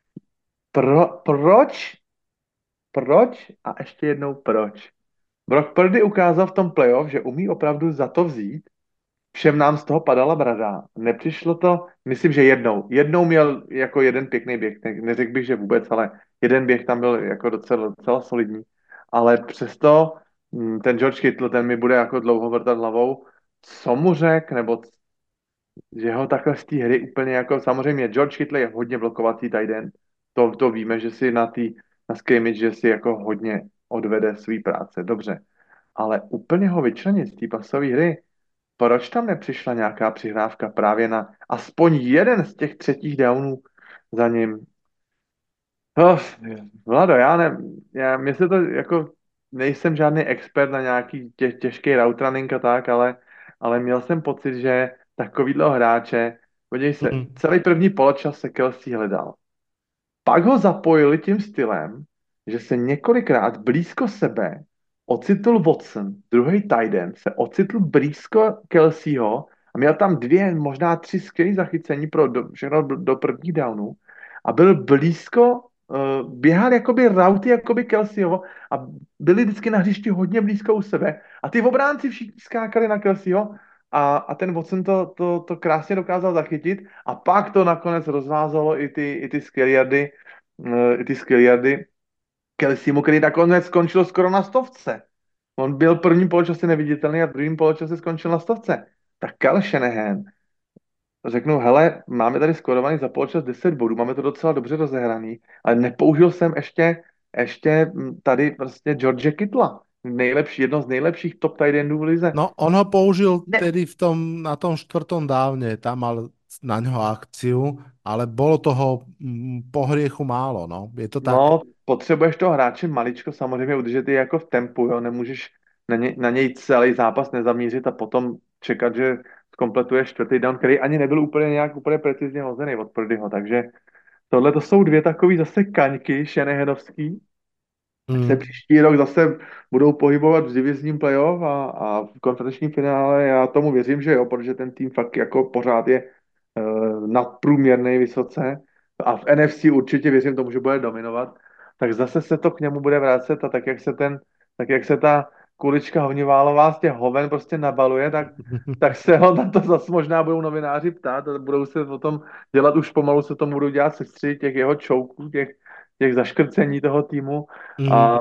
S6: Proč? Proč? A ještě jednou proč? Brock Purdy ukázal v tom playoff, že umí opravdu za to vzít. Všem nám z toho padala brada. Nepřišlo to, myslím, že jednou. Jednou měl jako jeden pěkný běh. Neřekl bych, že vůbec, ale jeden běh tam byl jako docela solidní. Ale přesto ten George Kittle, ten mi bude jako dlouho vrtat hlavou. co mu řek, nebo že ho takhle z té hry úplně jako, samozřejmě George Kittle je hodně blokovací tight end, to víme, že si na scrimmage, že si jako hodně odvede svý práce, dobře, ale úplně ho vyčlenit z té pasové hry, proč tam nepřišla nějaká přihrávka právě na aspoň jeden z těch třetích downů za ním? Oh, Vlado, mně se to jako, nejsem žádný expert na nějaký těžký route running a tak, ale měl jsem pocit, že takovýhle hráče, podívej se,
S5: Mm.
S6: celý první poločas se Kelsey hledal. Pak ho zapojili tím stylem, že se několikrát blízko sebe ocitl Watson, druhý tight end, se ocitl blízko Kelseyho a měl tam dvě, možná tři skvělé zachycení všechno do prvních downů a byl blízko, běhal jakoby rauty, jakoby Kelseyho a byli vždycky na hřišti hodně blízko u sebe a ty obránci všichni skákali na Kelseyho a ten Watson to krásně dokázal zachytit a pak to nakonec rozvázalo i ty skiliardy Kelseymu, který nakonec skončil skoro na 100. On byl prvním poločase neviditelný a druhým poločase skončil na 100. Tak Kyle Shanahan řeknu, hele, máme tady skórovaný za poločas 10 bodů, máme to docela dobře rozehraný, ale nepoužil jsem ještě tady prostě George Kittla, jedno z nejlepších top tight endů v lize.
S5: No, on ho použil
S6: Ne,
S5: tedy na tom štvrtom dávne, tam mal na ňo akciu, ale bolo toho po hriechu málo, no. Je to tak?
S6: no, potřebuješ toho hráče maličko samozřejmě udržet i jako v tempu, jo, nemůžeš na něj celý zápas nezamířit a potom čekat, že zkompletuje čtvrtý down, který ani nebyl úplně precizně hozený od Purdyho, takže tohle to jsou dvě takové zase kaňky Shanahanovský, se
S5: Mm.
S6: příští rok zase budou pohybovat v divizním playoff a v konferenčním finále. Já tomu věřím, že jo, protože ten tým fakt jako pořád je nadprůměrný vysoce a v NFC určitě věřím tomu, že bude dominovat. Tak zase se to k němu bude vracet a tak jak se ta kulička hovniválová z těch hoven prostě nabaluje, tak se ho na to zase možná budou novináři ptát a budou se o tom dělat, už pomalu se tomu budou dělat sestry těch jeho čouků, těch zaškrcení toho týmu a
S5: Mm.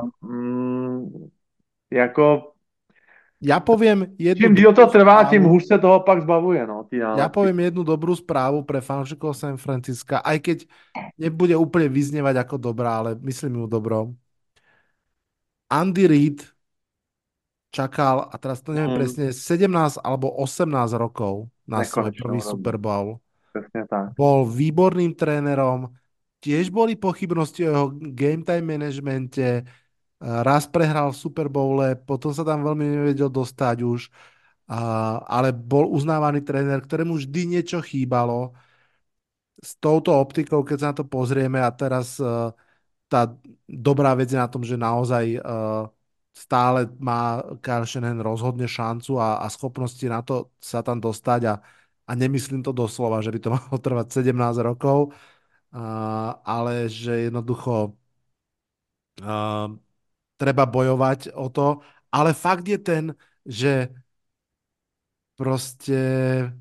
S6: jako
S5: Ja poviem jednu
S6: čím díl to
S5: dobrú
S6: trvá, tím
S5: správu.
S6: hůř se toho pak zbavuje, no, ty
S5: Ja
S6: nálepky.
S5: poviem jednu dobrú správu pre fanúšikov San Francisca, aj keď nebude úplne vyznievať ako dobrá, ale myslím ju dobro. Andy Reid čakal, a teraz to neviem
S6: Mm,
S5: presne, 17 alebo 18 rokov na svoj prvý
S6: nekonečnou dobu,
S5: Super Bowl.
S6: přesně tak.
S5: Bol výborným trénerom, tiež boli pochybnosti o jeho game time managemente, raz prehral v Super Bowle, potom sa tam veľmi nevedel dostať už, ale bol uznávaný tréner, ktorému vždy niečo chýbalo. S touto optikou, keď sa na to pozrieme a teraz tá dobrá vec je na tom, že naozaj stále má Kyle Shanahan rozhodne šancu a schopnosti na to sa tam dostať a nemyslím to doslova, že by to malo trvať 17 rokov, ale že jednoducho uh, treba bojovať o to. Ale fakt je ten, že proste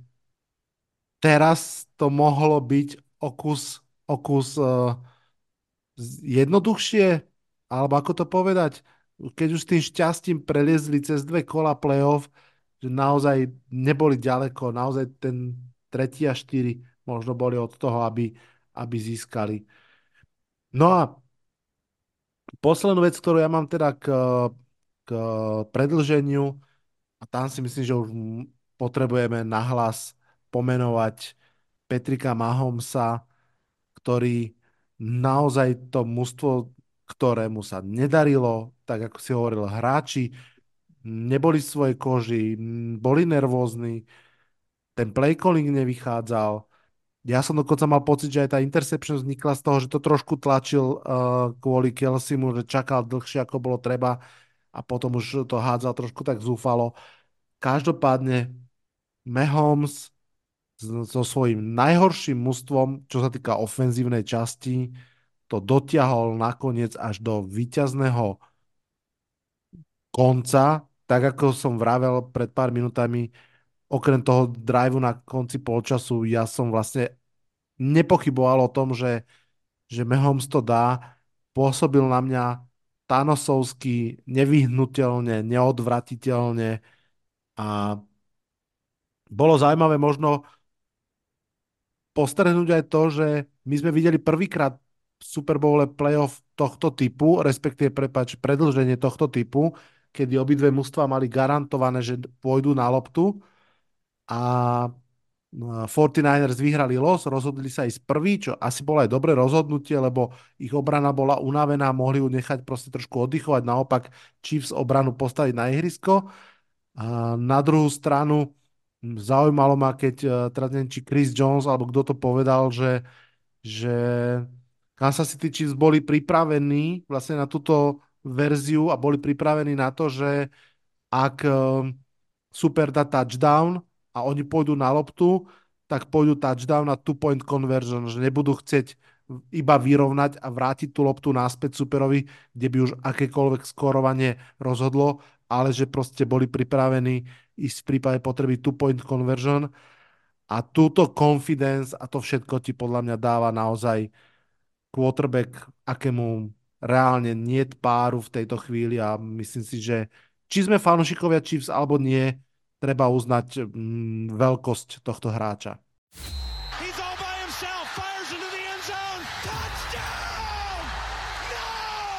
S5: teraz to mohlo byť o kus jednoduchšie, alebo ako to povedať, keď už s tým šťastím preliezli cez dve kola playoff, že naozaj neboli ďaleko, naozaj ten tretí a štyri možno boli od toho, aby získali. No a poslednú vec, ktorú ja mám teda k predlženiu, a tam si myslím, že už potrebujeme nahlas pomenovať Petrika Mahomesa, ktorý naozaj to mužstvo, ktorému sa nedarilo, tak ako si hovoril, hráči neboli v svojej koži, boli nervózni, ten play calling nevychádzal. Ja som dokonca mal pocit, že aj tá interception vznikla z toho, že to trošku tlačil kvôli Kelseymu, že čakal dlhšie, ako bolo treba a potom už to hádzal trošku tak zúfalo. Každopádne Mahomes so svojím najhorším mužstvom, čo sa týka ofenzívnej časti, to dotiahol nakoniec až do víťazného konca, tak ako som vravel pred pár minutami, okrem toho driveu na konci polčasu, ja som vlastne nepochyboval o tom, že Mahomes to dá, pôsobil na mňa Thanosovsky, nevyhnutelne, neodvratiteľne a bolo zaujímavé možno postrhnúť aj to, že my sme videli prvýkrát v Super Bowle playoff tohto typu, respektíve predĺženie tohto typu, kedy obidve mužstvá mali garantované, že pôjdu na loptu a 49ers vyhrali los, rozhodli sa ísť prvý, čo asi bolo aj dobré rozhodnutie, lebo ich obrana bola unavená, mohli ju nechať proste trošku oddychovať, naopak Chiefs obranu postaviť na ihrisko. A na druhú stranu zaujímalo ma, keď teraz neviem, či Chris Jones, alebo kto to povedal, že Kansas City Chiefs boli pripravení vlastne na túto verziu a boli pripravení na to, že ak super dá touchdown a oni pôjdu na loptu, tak pôjdu touchdown a two-point conversion, že nebudú chcieť iba vyrovnať a vrátiť tú loptu naspäť superovi, kde by už akékoľvek skórovanie rozhodlo, ale že proste boli pripravení ísť v prípade potreby two-point conversion a túto confidence a to všetko ti podľa mňa dáva naozaj quarterback, akému reálne niet páru v tejto chvíli a myslím si, že či sme fanúšikovia Chiefs alebo nie, treba uznať veľkosť tohto hráča.
S3: He's all by himself, fires into the end zone. Touchdown! No!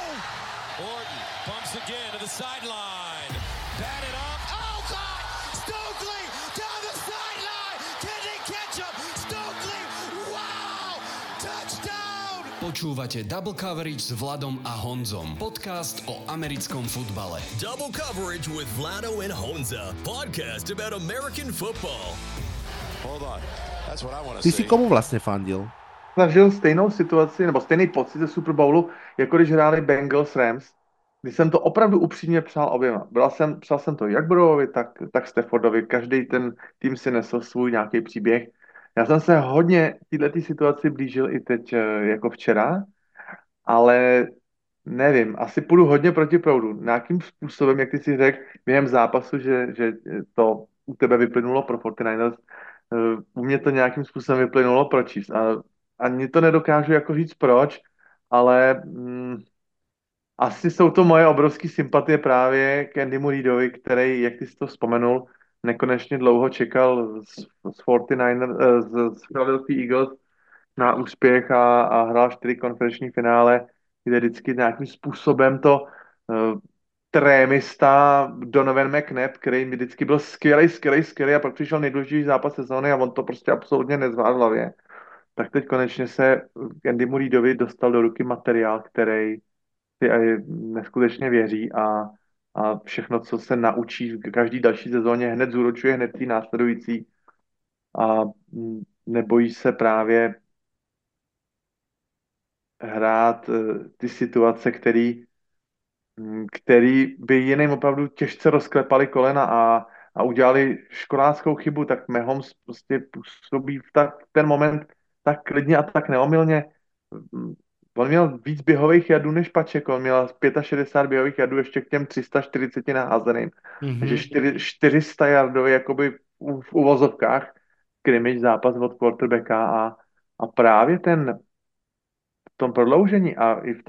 S1: Orton bumps again to the sideline. Batted up.
S3: Oh, God! Stokely down the sideline! Can he catch him? Stokely! Wow! Touchdown!
S4: Počúvate Double Coverage s Vladom a Honzom. Podcast o americkom futbale.
S8: Double Coverage with Vlado and Honza. Podcast about American football.
S1: Hold on. That's what I want to
S5: Ty
S1: see.
S5: si komu vlastne fandil?
S6: Zažil stejnou situaci, nebo stejný pocit ze Super Bowlu, jako když hráli Bengals Rams, kdy jsem to opravdu upřímně přál oběma. Přál jsem to jak Burrowovi, tak Staffordovi. Každý ten tým si nesl svůj nějaký příběh. Já jsem se hodně této situaci blížil i teď jako včera, ale nevím, asi půjdu hodně proti proudu. Nějakým způsobem, jak ty si řekl během zápasu, že to u tebe vyplynulo pro 49ers, u mě to nějakým způsobem vyplynulo pro Chiefs. A ani to nedokážu jako říct proč, ale asi jsou to moje obrovské sympatie právě k Andymu Reidovi, který, jak ty jsi to vzpomenul, nekonečně dlouho čekal z 49ers, z Philadelphia Eagles na úspěch a hrál 4 konferenční finále, kde vždycky nějakým způsobem to trémista Donovan McNabb, který mi vždycky byl skvělej a pak přišel nejdůležitější zápas sezóny a on to prostě absolutně nezvládl v hlavě. Tak teď konečně se Andymu Reidovi dostal do ruky materiál, který si neskutečně věří a všechno, co se naučí v každý další sezóně, hned zúročuje hned tý následující a nebojí se právě hrát ty situace, který by jiným opravdu těžce rozklepali kolena a udělali školáckou chybu, tak Mahomes prostě působí v ten moment tak klidně a tak neomylně. On měl víc běhových jadů než Paček, on měl 65 běhových jadů ještě k těm 340 naházeným. Takže 400 jardový jakoby v uvozovkách scrimmage zápas od quarterbacka a právě v tom prodloužení a i v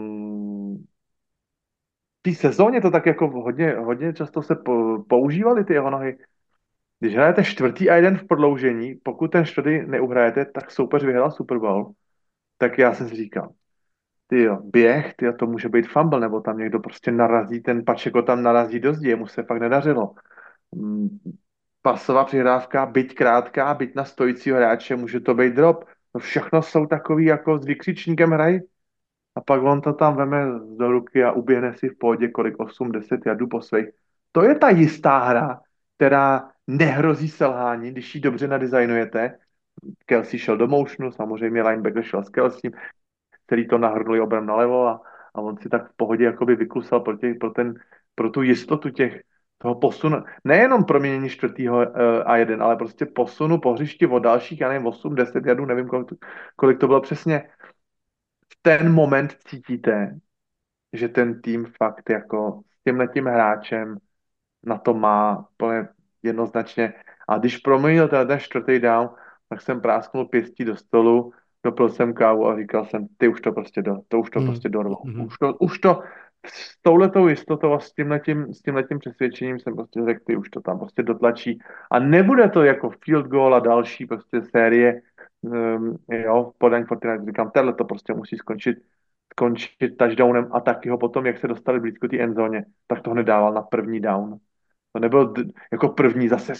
S6: té sezóně to tak jako hodně často se používaly ty jeho nohy. Když hrajete 4. a 1 v prodloužení, pokud ten 4. neuhrajete, tak soupeř vyhrál Super Bowl. Tak já jsem si říkal, běh, to může být fumble, nebo tam někdo prostě narazí, ten Pačeko tam narazí do zdi, mu se fakt nedařilo. Pasová přihrávka, byť krátká, byť na stojícího hráče, může to být drop. No všechno jsou takový jako s vykřičníkem hrají. A pak on to tam veme do ruky a uběhne si v pohodě kolik 8-10 jardů po svých. To je ta jistá hra, která nehrozí selhání, když ji dobře nadizajnujete. Kelsey šel do motionu, samozřejmě linebacker šel s Kelseym, který to nahrnuli obram nalevo a on si tak v pohodě jakoby vyklusal pro tu jistotu toho posunu. Nejenom proměnění 4. a 1, ale prostě posunu po hřišti o dalších, já nevím, 8-10 jardů, nevím, kolik to bylo přesně. V ten moment cítíte, že ten tým fakt jako s tímhletím hráčem na to má plně jednoznačně. A když proměnil ten 4. down, tak jsem prásknul pěstí do stolu, dopil jsem kávu a říkal jsem, ty už to prostě prostě dorvou. Už to s touhletou jistotou a s tímhletím přesvědčením jsem prostě řekl, ty už to tam prostě dotlačí. A nebude to jako field goal a další prostě série, jo, v podání Fortnite. Říkám, tohle to prostě musí skončit touchdownem a taky ho potom, jak se dostali blízko té endzóně, tak to hned dával na první down. To nebylo jako první, zase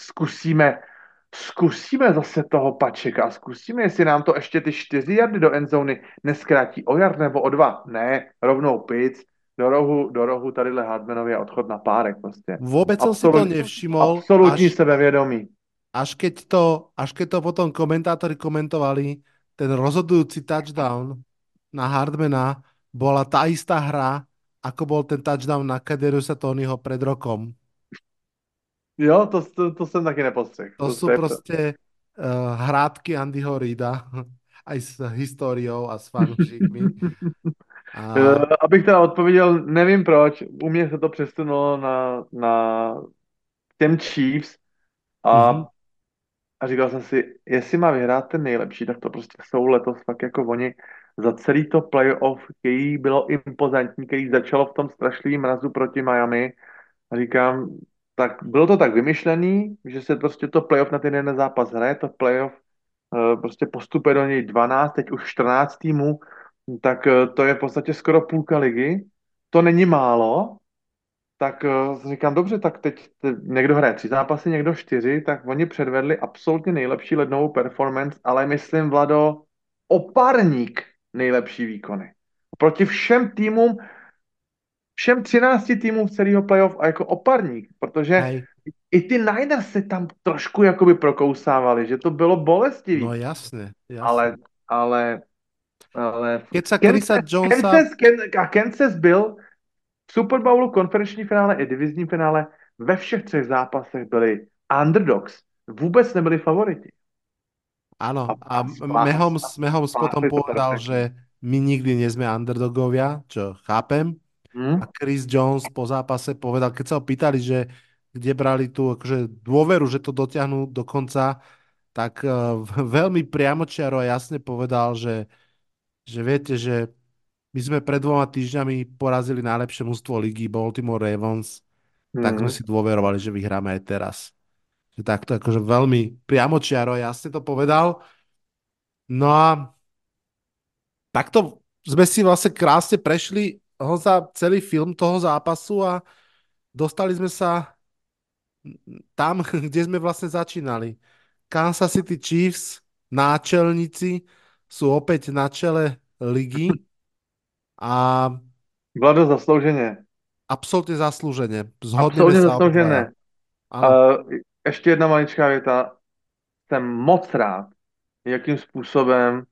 S6: zkusíme zase toho Pačeka, zkusíme, jestli nám to ještě ty 4 jardy do endzóny neskrátí o yard nebo o 2. Ne, rovnou pic, do rohu tadyhle Hardmanovi a odchod na párek prostě.
S5: Vôbec som si to nevšimol,
S6: Absolutní sebevědomí.
S5: až keď to potom komentátori komentovali, ten rozhodujúci touchdown na Hardmana bola tá istá hra, ako bol ten touchdown na Kaderiusa Tonyho pred rokom.
S6: Jo, to jsem taky nepostřehl.
S5: To sú proste hrátky Andyho Reida, aj s históriou a s fanúšikmi.
S6: Abych teda odpověděl, nevím proč, u mě se to přesunulo na těm Chiefs a říkal jsem si, jestli má vyhrát ten nejlepší, tak to prostě jsou letos fakt jako oni za celý to playoff, který bylo impozantní, který začalo v tom strašlivém mrazu proti Miami. A říkám, tak bylo to tak vymyšlený, že se prostě to playoff na ten jeden zápas hraje, to playoff prostě postupuje do něj 12, teď už 14 týmů, tak to je v podstatě skoro půlka ligy. To není málo, tak říkám, dobře, tak teď někdo hraje 3 zápasy, někdo 4, tak oni předvedli absolutně nejlepší lednovou performance, ale myslím, Vlado, oparník nejlepší výkony. Proti všem týmům, všem 13 týmům v celého playoff a jako oparník, protože i ty Niners se tam trošku jakoby prokousávali, že to bylo bolestivý.
S5: No jasne.
S6: Ale
S5: keď sa Chrisa Jonesa...
S6: Kansas byl v Super Bowlu, konferenční finále i divizním finále ve všech 3 zápasech byli underdogs. Vůbec nebyli favoriti.
S5: Áno, a Mahomes potom povedal, že my nikdy nie sme underdogovia, čo chápem. A Chris Jones po zápase povedal, keď sa ho pýtali, že kde brali tú akože dôveru, že to dotiahnu do konca, tak veľmi priamočiaro a jasne povedal, že viete, že my sme pred 2 týždňami porazili najlepšie mužstvo ligy, Baltimore Ravens, tak sme si dôverovali, že vyhráme aj teraz. Že takto akože veľmi priamočiaro a jasne to povedal. No a takto sme si vlastne krásne prešli za celý film toho zápasu a dostali sme sa tam, kde sme vlastne začínali. Kansas City Chiefs, náčelníci, sú opäť na čele ligy a...
S6: Vlado, zaslouženě.
S5: Absolutně zaslúženě.
S6: Absolutně zasloužené. Ještě jedna maličká věta. Jsem moc rád, jakým způsobem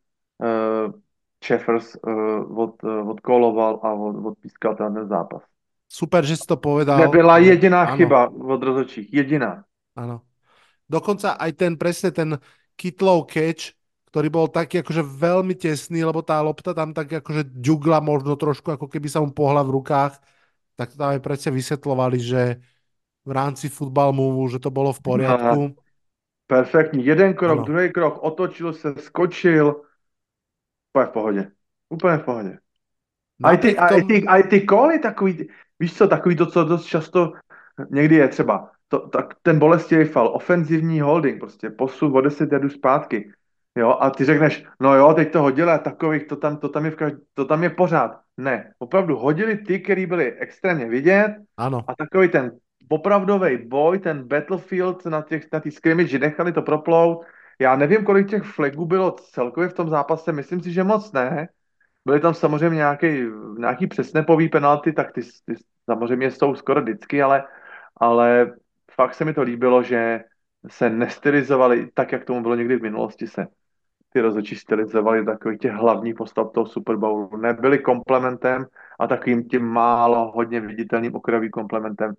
S6: Jeffers odkoloval a odpískal ten zápas.
S5: Super, že si to povedal.
S6: Nebyla jediná chyba od rozhodčích. Jediná.
S5: Áno. Dokonca aj presne ten Kitlov catch, ktorý bol taký akože veľmi tesný, lebo tá lopta tam tak akože ďugla možno trošku, ako keby sa mu pohla v rukách, tak to tam aj presne vysvetľovali, že v rámci football move, že to bolo v poriadku.
S6: Perfektní. Jeden krok, druhý krok, otočil se, skočil. Úplně v pohodě. Úplně v pohodě. A i ty koly takový, víš co, takový to, co dost často někdy je třeba, tak ten bolestivý fal, ofenzivní holding, prostě posun o 10 jardů zpátky. Jo, a ty řekneš, no jo, teď to hodili a takových, to tam je pořád. Ne, opravdu hodili ty, který byli extrémně vidět.
S5: Ano.
S6: A takový ten opravdový boj, ten battlefield na té scrimmage, nechali to proplout. Já nevím, kolik těch flagů bylo celkově v tom zápase, myslím si, že moc ne. Byly tam samozřejmě nějaký přesnepový penalty, tak ty samozřejmě jsou skoro vždycky, ale fakt se mi to líbilo, že se nestylizovali tak, jak tomu bylo někdy v minulosti, se ty rozhodčí stylizovali takových těch hlavních postav toho Super Bowlu. Nebyli komplementem a takovým tím málo hodně viditelným okrajovým komplementem.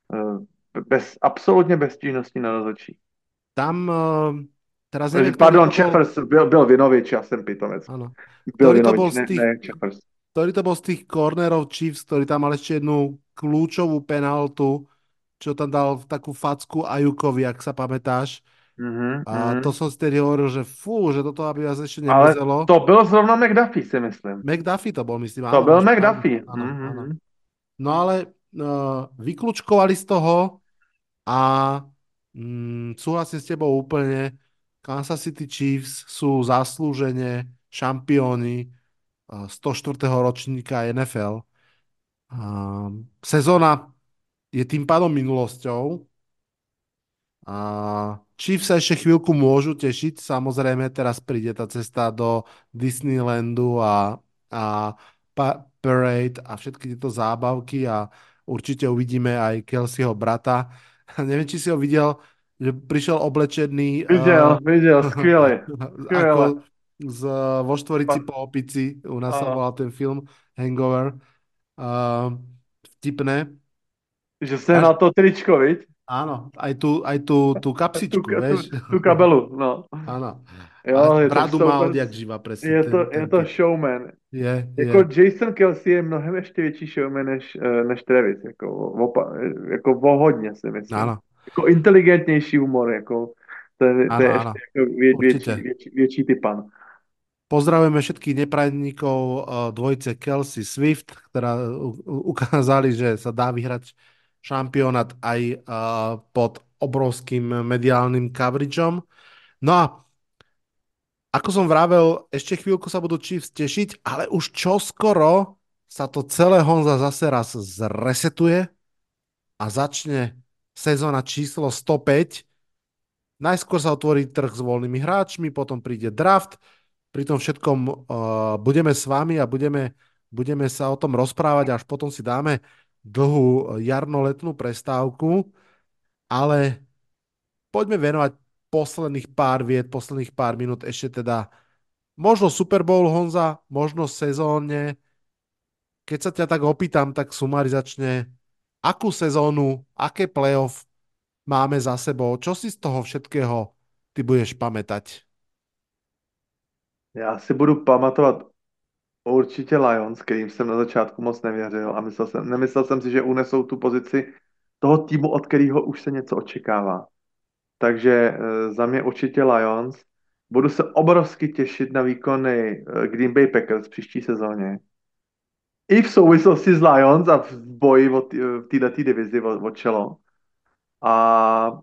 S6: Absolutně bez stížností na rozhodčí.
S5: Tam teraz
S6: nevím, pardon, Jeffers byl Vinovič, já jsem pitomec.
S5: Áno.
S6: Byl Vinovič, ne Jeffers.
S5: Ktorý to bol z tých cornerov Chiefs, ktorý tam mal ešte jednu kľúčovú penaltu, čo tam dal takú facku Ajukovi, ak sa pamätáš. To som si tedy hovoril, že že toto aby vás ešte nemizelo.
S6: Ale to byl zrovna McDuffie, si myslím.
S5: McDuffie to bol, myslím.
S6: To byl McDuffie.
S5: Áno. No ale vyklúčkovali z toho a súhlasím s tebou úplne. Kansas City Chiefs sú zaslúžene šampióni 104. ročníka NFL. Sezóna je tým pádom minulosťou. Chiefs sa ešte chvíľku môžu tešiť. Samozrejme, teraz príde tá cesta do Disneylandu a Parade a všetky tieto zábavky a určite uvidíme aj Kelseyho brata. Neviem, či si ho videl, že prišiel oblečený
S6: Viděl, skvěle, skvěle.
S5: ako vo štvorici po opici. U nás sa
S6: Ano.
S5: volal ten film Hangover. Vtipné.
S6: Že se na to tričko, viď?
S5: Áno, aj tú kapsičku, vieš.
S6: Tu kabelu, no.
S5: Áno.
S6: Jo,
S5: A
S6: je to
S5: bradu má
S6: super.
S5: odjak živa, presne.
S6: Je to showman.
S5: Je.
S6: Jako Jason Kelsey je mnohem ještě větší showman než Travis. Jako o hodně si myslím.
S5: Áno,
S6: Jako inteligentnější humor. Jako, to je
S5: áno.
S6: ještě jako
S5: Určite.
S6: větší typan.
S5: Pozdravujeme všetkých neprajedníkov dvojice Kelsey Swift, ktorá ukázali, že sa dá vyhrať šampionát aj pod obrovským mediálnym coverageom. No a ako som vravel, ešte chvíľku sa budú Chiefs tešiť, ale už čoskoro sa to celé, Honza, zase raz zresetuje a začne sezóna číslo 105. Najskôr sa otvorí trh s voľnými hráčmi, potom príde draft. Pri tom všetkom budeme s vami a budeme sa o tom rozprávať, až potom si dáme dlhú jarno-letnú prestávku, ale poďme venovať posledných pár viet, posledných pár minút ešte teda možno Super Bowl, Honza, možno sezónne. Keď sa ťa tak opýtam, tak sumarizačne, akú sezónu, aké playoff máme za sebou, čo si z toho všetkého ty budeš pamätať?
S6: Já si budu pamatovat určitě Lions, kterým jsem na začátku moc nevěřil a nemyslel jsem si, že unesou tu pozici toho týmu, od kterého už se něco očekává. Takže za mě určitě Lions. Budu se obrovsky těšit na výkony Green Bay Packers v příští sezóně. I v souvislosti s Lions a v boji v této divizi o čelo. A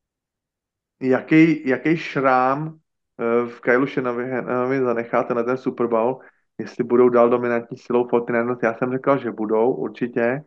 S6: jaký šrám v Kyle Shanahan zanechá na ten Super Bowl, jestli budou dál dominantní silou 49ers. Já jsem říkal, že budou určitě,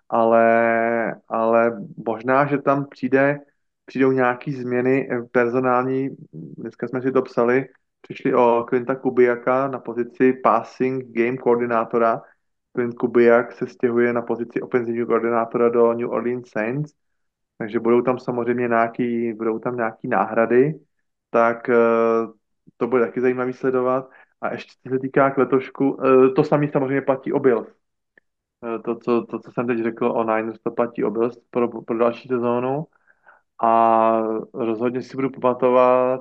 S6: ale možná, že tam přijdou nějaký změny personální. Dneska jsme si to psali, přišli o Quinta Kubiaka na pozici passing game koordinátora. Quint Kubiak se stěhuje na pozici ofenzivního koordinátora do New Orleans Saints, takže budou tam samozřejmě nějaký náhrady, tak to bude taky zajímavý sledovat. A ještě co se týká k letošku, to samé samozřejmě platí o Bills. To, co jsem teď řekl o Niners, to platí o Bills pro další sezónu. A rozhodně si budu pamatovat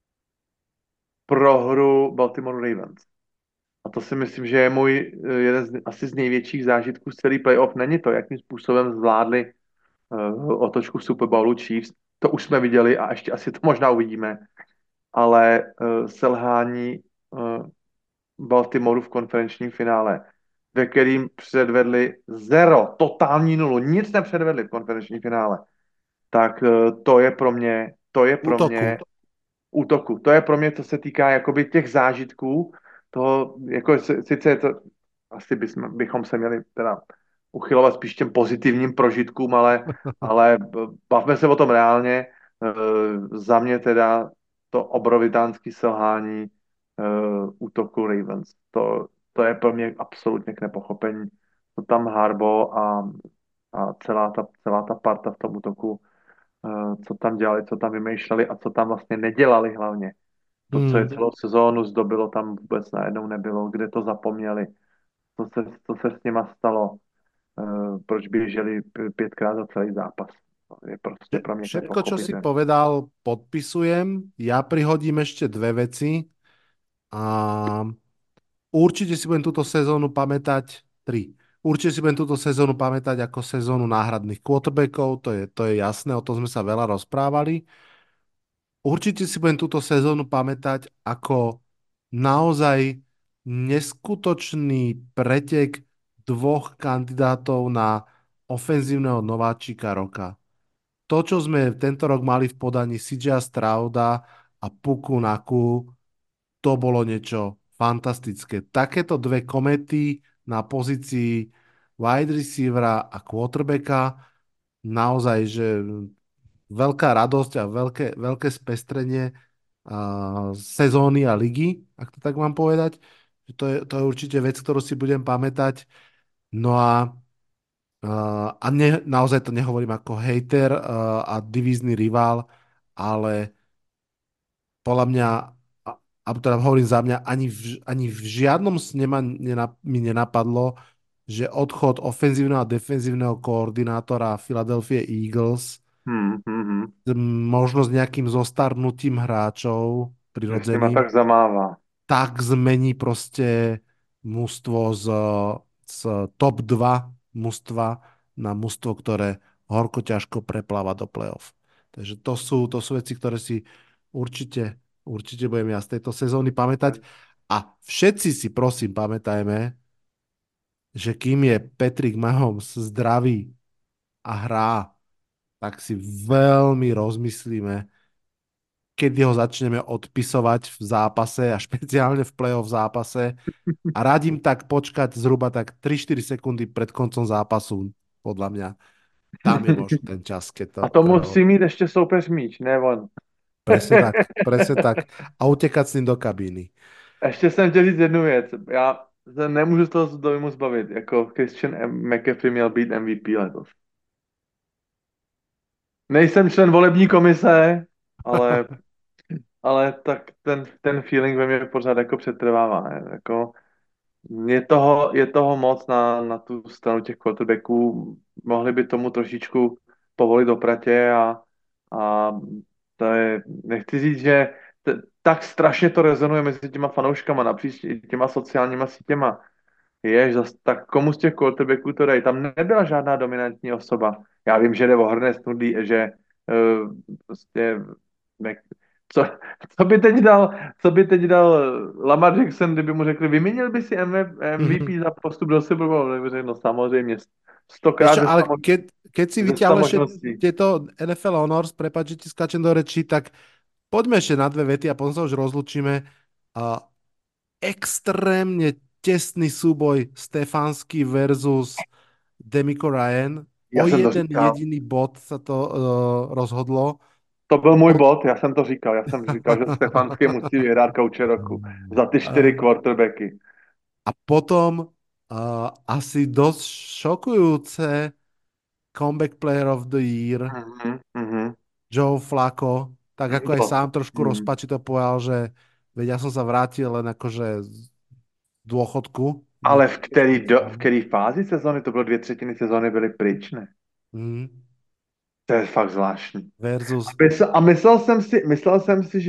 S6: prohru Baltimore Ravens. A to si myslím, že je můj jeden asi z největších zážitků z celý playoff. Není to, jakým způsobem zvládli otočku v Super Bowlu Chiefs. To už jsme viděli a ještě asi to možná uvidíme. Ale selhání Baltimoreu v konferenčním finále, ve kterým předvedli totální nulu, nic nepředvedli v konferenčním finále, tak to je pro mě útoku. To je pro mě, co se týká jakoby těch zážitků, toho, jako sice je to, asi bychom se měli teda uchylovat spíš těm pozitivním prožitkům, ale bavme se o tom reálně. Za mě teda to obrovitánský selhání útoku Ravens. To je pro mě absolutně k nepochopení. To tam Harbaugh a celá ta parta v tom útoku, co tam dělali, co tam vymýšleli a co tam vlastně nedělali hlavně. To, co je celou sezónu zdobilo, tam vůbec najednou nebylo, kde to zapomněli, co se s nima stalo, proč běželi 5krát za celý zápas. To je prostě pro mě
S5: Všetko, čo si povedal, podpisujem. Ja prihodím ešte dve veci. A určite si budem túto sezónu pamätať, určite si budem túto sezónu pamätať ako sezónu náhradných quarterbackov, to je jasné, o tom sme sa veľa rozprávali. Určite si budem túto sezónu pamätať ako naozaj neskutočný pretek dvoch kandidátov na ofenzívneho nováčika roka. To, čo sme tento rok mali v podaní CJ Strauda a Puku Naku, to bolo niečo fantastické. Takéto dve komety na pozícii wide receivera a quarterbacka, naozaj, že veľká radosť a veľké spestrenie sezóny a ligy, ak to tak mám povedať. To je určite vec, ktorú si budem pamätať. No naozaj to nehovorím ako hejter a divízny rival, ale podľa mňa, alebo teda hovorím za mňa, ani v žiadnom sne mi nenapadlo, že odchod ofenzívneho a defenzívneho koordinátora Philadelphia Eagles možno s nejakým zostarnutím hráčov
S6: Že s nima
S5: prirodzeným,
S6: tak zamává.
S5: tak zmení proste mužstvo z top 2 mužstva na mužstvo, ktoré horko ťažko prepláva do play-off. Takže to sú veci, ktoré si určite budem ja z tejto sezóny pamätať. A všetci si prosím pamätajme, že kým je Patrick Mahomes zdravý a hrá, tak si veľmi rozmyslíme, kedy ho začneme odpisovať v zápase a špeciálne v play-off zápase. A radím tak počkať zhruba tak 3-4 sekundy pred koncom zápasu, podľa mňa. Tam je možno ten čas, keď to...
S6: A to musí mít ještě soupeř míč, ne on.
S5: Presne tak, presne tak. A utekať s ním do kabíny.
S6: Ještě jsem chtěl říct jednu věc. Já se nemůžu z toho dojmu zbavit. Jako Christian McCaffrey měl být MVP letos. Nejsem člen volební komise, ale tak ten feeling ve mně pořád jako přetrvává. Ne? Jako, je toho moc na tu stranu těch quarterbacků. Mohli by tomu trošičku povolit do pratě a to je, nechci říct, že tak strašně to rezonuje mezi těma fanouškama napříč těma sociálníma sítěma. Tak komu z těch quarterbacků to dají? Tam nebyla žádná dominantní osoba. Já vím, že jde o hrné snudí, že prostě co by teď dal Lamar Jackson, kdyby mu řekli, vyměnil by si MVP za postup do Super Bowlu? Tak by řekl, no samozřejmě, stokrát.
S5: Ale keď si vyťahneš tieto NFL Honors, prepáč, že ti skáčem do rečí, tak poďme ešte na dve vety a potom sa už rozlučíme. Extrémne tesný súboj Stefanský versus Demico Ryan. O jeden jediný bod sa to rozhodlo.
S6: To byl můj bod, já jsem říkal, že Stefanský musí vyhrát kouče roku za ty 4 quarterbacky.
S5: A potom asi dosť šokujúce Comeback Player of the Year Joe Flacco, tak ako aj sám trošku rozpačito povedal, že veď ja som sa vrátil len akože z dôchodku.
S6: Ale v který fázi sezóny? To bylo 2/3 sezóny byly pryč, ne? To je fakt zvláštní. A myslel jsem si,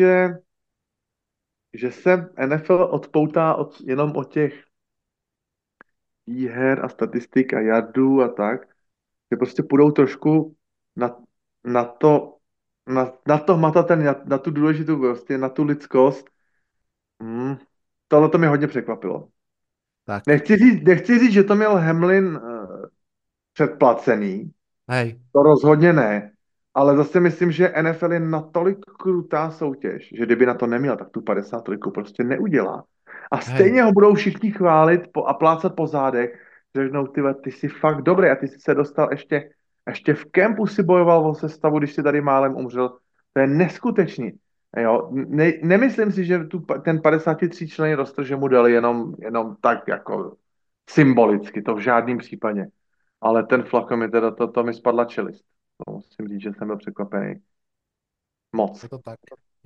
S6: že se NFL odpoutá jenom od těch výher a statistik a jardů a tak, že prostě půjdou trošku na to hmatatelný, na tu důležitou prostě, na tu lidskost. Tohle to mě hodně překvapilo. Tak. Nechci říct, že to měl Hamlin předplacený.
S5: Hej.
S6: To rozhodně ne. Ale zase myslím, že NFL je natolik krutá soutěž, že kdyby na to neměl, tak tu 53 prostě neudělá. A stejně ho budou všichni chválit a plácat po zádech. Řeknou, ty jsi fakt dobrý a ty jsi se dostal ještě v kempu si bojoval o sestavu, když si tady málem umřel. To je neskutečný. Jo, nemyslím si, že ten 53 člený roster, že mu dali jenom tak jako symbolicky, to v žádném případě. Ale ten Flacco mi teda, to mi spadla čelist. To musím říct, že jsem byl překvapený. Moc.
S5: Je to tak.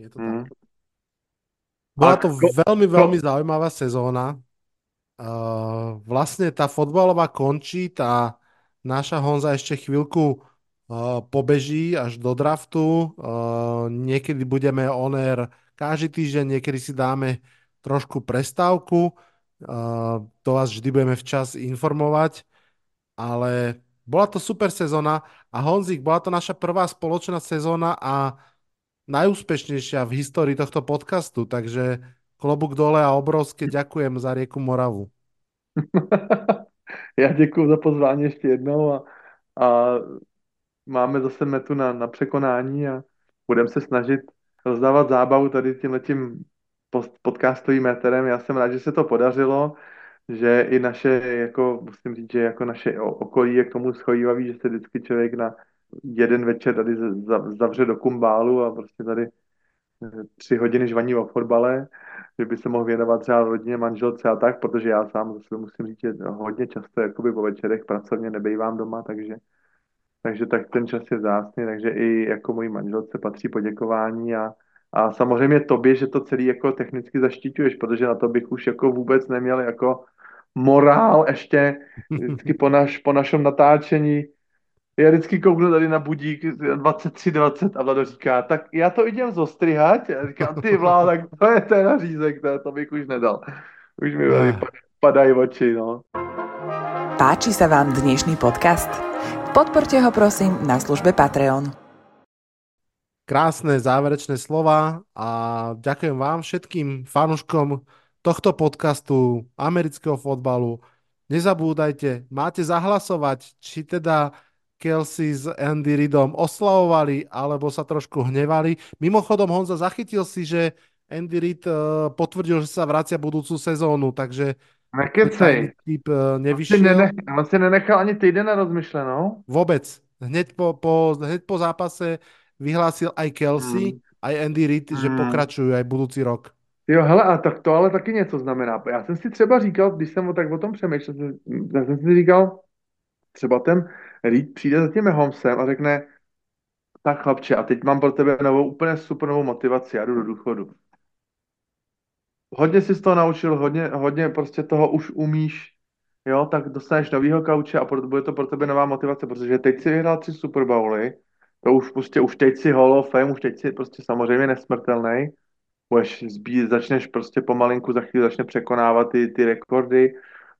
S5: Bola to veľmi zaujímavá sezóna. Vlastne tá fotbalová končí, tá naša Honza ešte chvíľku pobeží až do draftu. Niekedy budeme on air každý týždeň, niekedy si dáme trošku prestávku. To vás vždy budeme včas informovať, ale bola to super sezóna a Honzik, bola to naša prvá spoločná sezóna a najúspešnejšia v histórii tohto podcastu, takže klobúk dole a obrovské ďakujem za rieku Moravu.
S6: Já děkuji za pozvání ještě jednou a máme zase metu na překonání a budeme se snažit rozdávat zábavu tady tímhletím podcastovým éterem. Já jsem rád, že se to podařilo, že i naše, jako musím říct, že jako naše okolí je k tomu schovývavý, že se vždycky člověk na jeden večer tady zavře do kumbálu a prostě tady 3 hodiny žvaní o fotbale, že by se mohl věnovat třeba rodině, manželce a tak, protože já sám zase musím říct, že hodně často jakoby po večerech pracovně nebejvám doma, takže tak ten čas je vzácný, takže i jako mojí manželce patří poděkování a samozřejmě tobě, že to celý jako technicky zaštiťuješ, protože na to bych už jako vůbec neměl jako morál ještě vždycky po našem natáčení. Já vždycky kouknu tady na budík 23:20 a Vlado říká, tak já to idem zostrihat. Já říkám, ty Vládo, tak to je ten nařízek, to bych už nedal. Už mi padají oči, no.
S7: Páči sa vám dnešný podcast? Podporte ho prosím na službe Patreon.
S5: Krásne záverečné slova a ďakujem vám všetkým fanúškom tohto podcastu amerického fotbalu. Nezabúdajte, máte zahlasovať, či teda Kelsey s Andy Reidom oslavovali, alebo sa trošku hnevali. Mimochodom, Honza, zachytil si, že Andy Reid potvrdil, že sa vracia budúcu sezónu, takže
S6: Nekecej.
S5: Typ nevyšiel.
S6: On si nenechal ani týden na rozmyšlenou.
S5: Vôbec. Hneď po zápase vyhlásil aj Kelsey, aj Andy Reid, že pokračujú aj budúci rok.
S6: Jo, hele, a tak to ale taky něco znamená. Já jsem si třeba říkal, když jsem tak o tom přemýšlel, tak jsem si říkal, třeba ten Reid přijde za tím Mahomesem a řekne, tak chlapče, a teď mám pro tebe úplně super novou motivaci, já jdu do důchodu. Hodně jsi z toho naučil, hodně prostě toho už umíš, jo, tak dostaneš novýho kauče a bude to pro tebe nová motivace, protože teď si vyhrál 3 Super Bowly, to už prostě, už teď si Hall of Fame, už teď si prostě samozřejmě nesmrtelný, začneš prostě pomalinku, za chvíli začne překonávat ty rekordy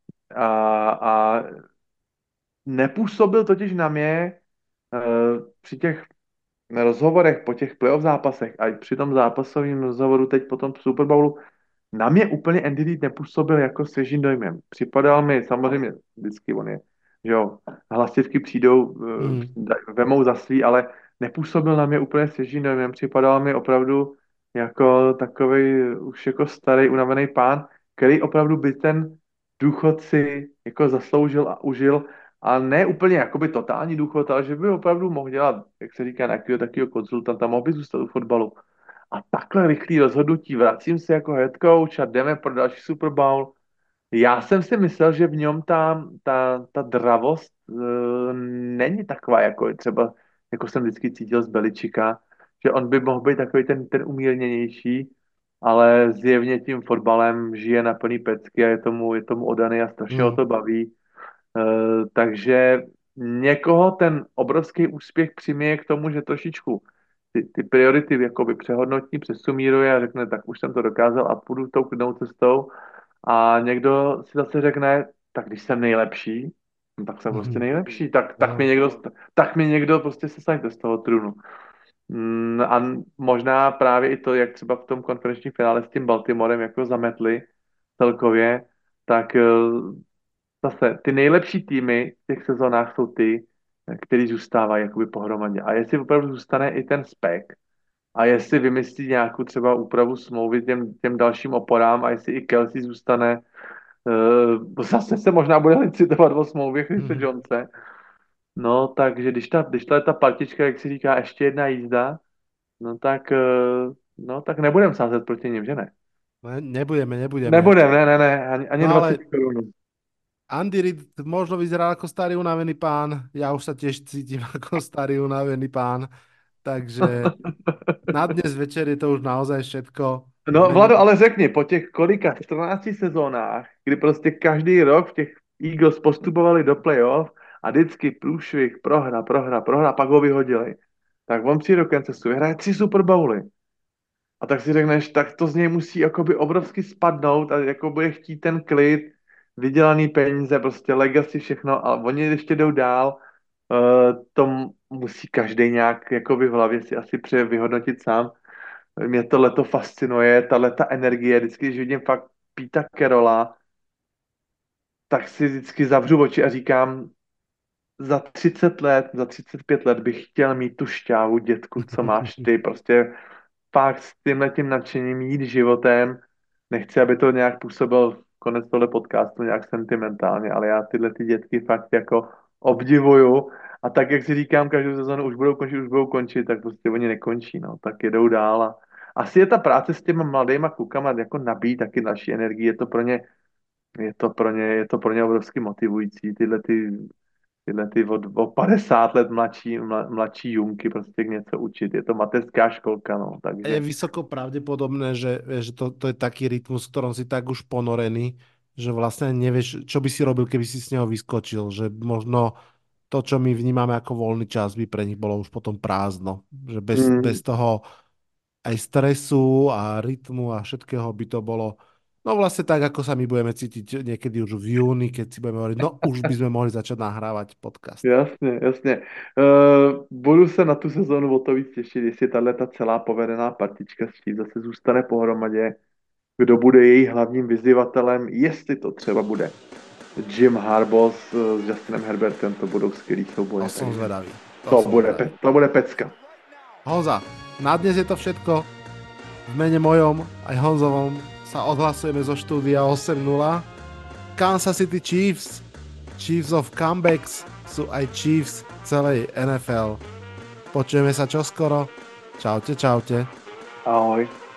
S6: a nepůsobil totiž na mě při těch rozhovorech po těch playoff zápasech a i při tom zápasovém rozhovoru teď po tom Super Bowlu na mě úplně Andy Reid nepůsobil jako svěžím dojmem. Připadal mi, samozřejmě vždycky on je, že jo, hlasivky přijdou, vemou za svý, ale nepůsobil na mě úplně svěžím dojmem. Připadal mi opravdu jako takovej už jako starý unavený pán, který opravdu by ten důchod si jako zasloužil a užil a ne úplně jakoby totální důchod, ale že by opravdu mohl dělat, jak se říká, nějakého takového konzultanta, mohl by zůstat u fotbalu. A takhle rychlý rozhodnutí, vracím se jako head coach a jdeme pro další Super Bowl. Já jsem si myslel, že v něm ta dravost není taková, jako třeba, jako jsem vždycky cítil z Beličika, že on by mohl být takový ten umírněnější, ale zjevně tím fotbalem žije na plný pecky a je tomu oddaný a strašně ho to baví. Takže někoho ten obrovský úspěch přiměje k tomu, že trošičku ty priority jakoby přehodnotí, přesumíruje a řekne, tak už jsem to dokázal a půjdu tou klidnou cestou. A někdo si zase řekne, tak když jsem nejlepší, no, tak jsem prostě nejlepší, tak mi někdo prostě se saňte z toho trůnu. A možná právě i to, jak třeba v tom konferenčním finále s tím Baltimorem jako zametli celkově, tak zase ty nejlepší týmy v těch sezónách jsou ty, který zůstávají jakoby pohromadě. A jestli opravdu zůstane i ten spek, a jestli vymyslí nějakou třeba úpravu smlouvy těm dalším oporám, a jestli i Kelsey zůstane, zase se možná bude licitovat o smlouvě Chrisse Jonese. No, takže když ta partička, jak si říká, ještě jedna jízda, no tak nebudem sázet proti nim, že ne?
S5: Nebudeme.
S6: Ne, ani
S5: No,
S6: 20 korun.
S5: Andy Reid možno vyzeral ako starý unavený pán, ja už sa tiež cítim ako starý unavený pán, takže na dnes večer je to už naozaj všetko.
S6: No, Vlado, ale řekni, po těch kolika 14 sezónách, kdy prostě každý rok v těch Eagles postupovali do playoff a vždycky průšvih, prohra, pak ho vyhodili, tak on přijde do Kansasu, vyhraje 3 Super Bowly. A tak si řekneš, tak to z něj musí jakoby obrovsky spadnout a jako bude chtít ten klid, vydělaný peníze, prostě legacy, všechno, a oni ještě jdou dál, to musí každý nějak jakoby v hlavě si asi vyhodnotit sám. Mě to leto fascinuje, ta energie, vždycky, když vidím fakt Pete Carrolla, tak si vždycky zavřu oči a říkám, za 30 let, za 35 let bych chtěl mít tu šťávu, dětku, co máš ty, prostě fakt s tímhletím nadšením jít životem. Nechci, aby to nějak působil konec tohle podcastu nějak sentimentálně, ale já tyhle ty dětky fakt jako obdivuju a tak, jak si říkám, každou sezónu už budou končit, tak prostě oni nekončí, no, tak jedou dál a asi je ta práce s těma mladýma klukama jako nabíjí taky další energii, je to pro ně obrovsky motivující, tyhle ty o 50 let mladší junky prostě něco učit. Je to mateřská školka, no, takže...
S5: Je vysoko pravdepodobné, že to je taký rytmus, v ktorom si tak už ponorený, že vlastne nevieš, čo by si robil, keby si z neho vyskočil, že možno to, čo my vnímame ako voľný čas, by pre nich bolo už potom prázdno. Že bez toho aj stresu a rytmu a všetkého by to bolo no vlastne tak, ako sa my budeme cítiť niekedy už v júni, keď si budeme hovoriť, no už by sme mohli začať nahrávať podcast.
S6: Jasně. Budu se na tu sezónu o to víc těšit, jestli ta celá povedená partička s tím zase zůstane pohromadě, kdo bude její hlavním vyzývatelem, jestli to třeba bude Jim Harbaugh s Justinem Herbertem, to budou skvělý souboje.
S5: To som zvedavý.
S6: To bude pecka.
S5: Honza, na dnes je to všetko. V mene mojom aj Honzovom sa odhlasujeme zo štúdia 8-0. Kansas City Chiefs of comebacks sú aj Chiefs celej NFL. Počujeme sa čoskoro. Čaute.
S6: Ahoj.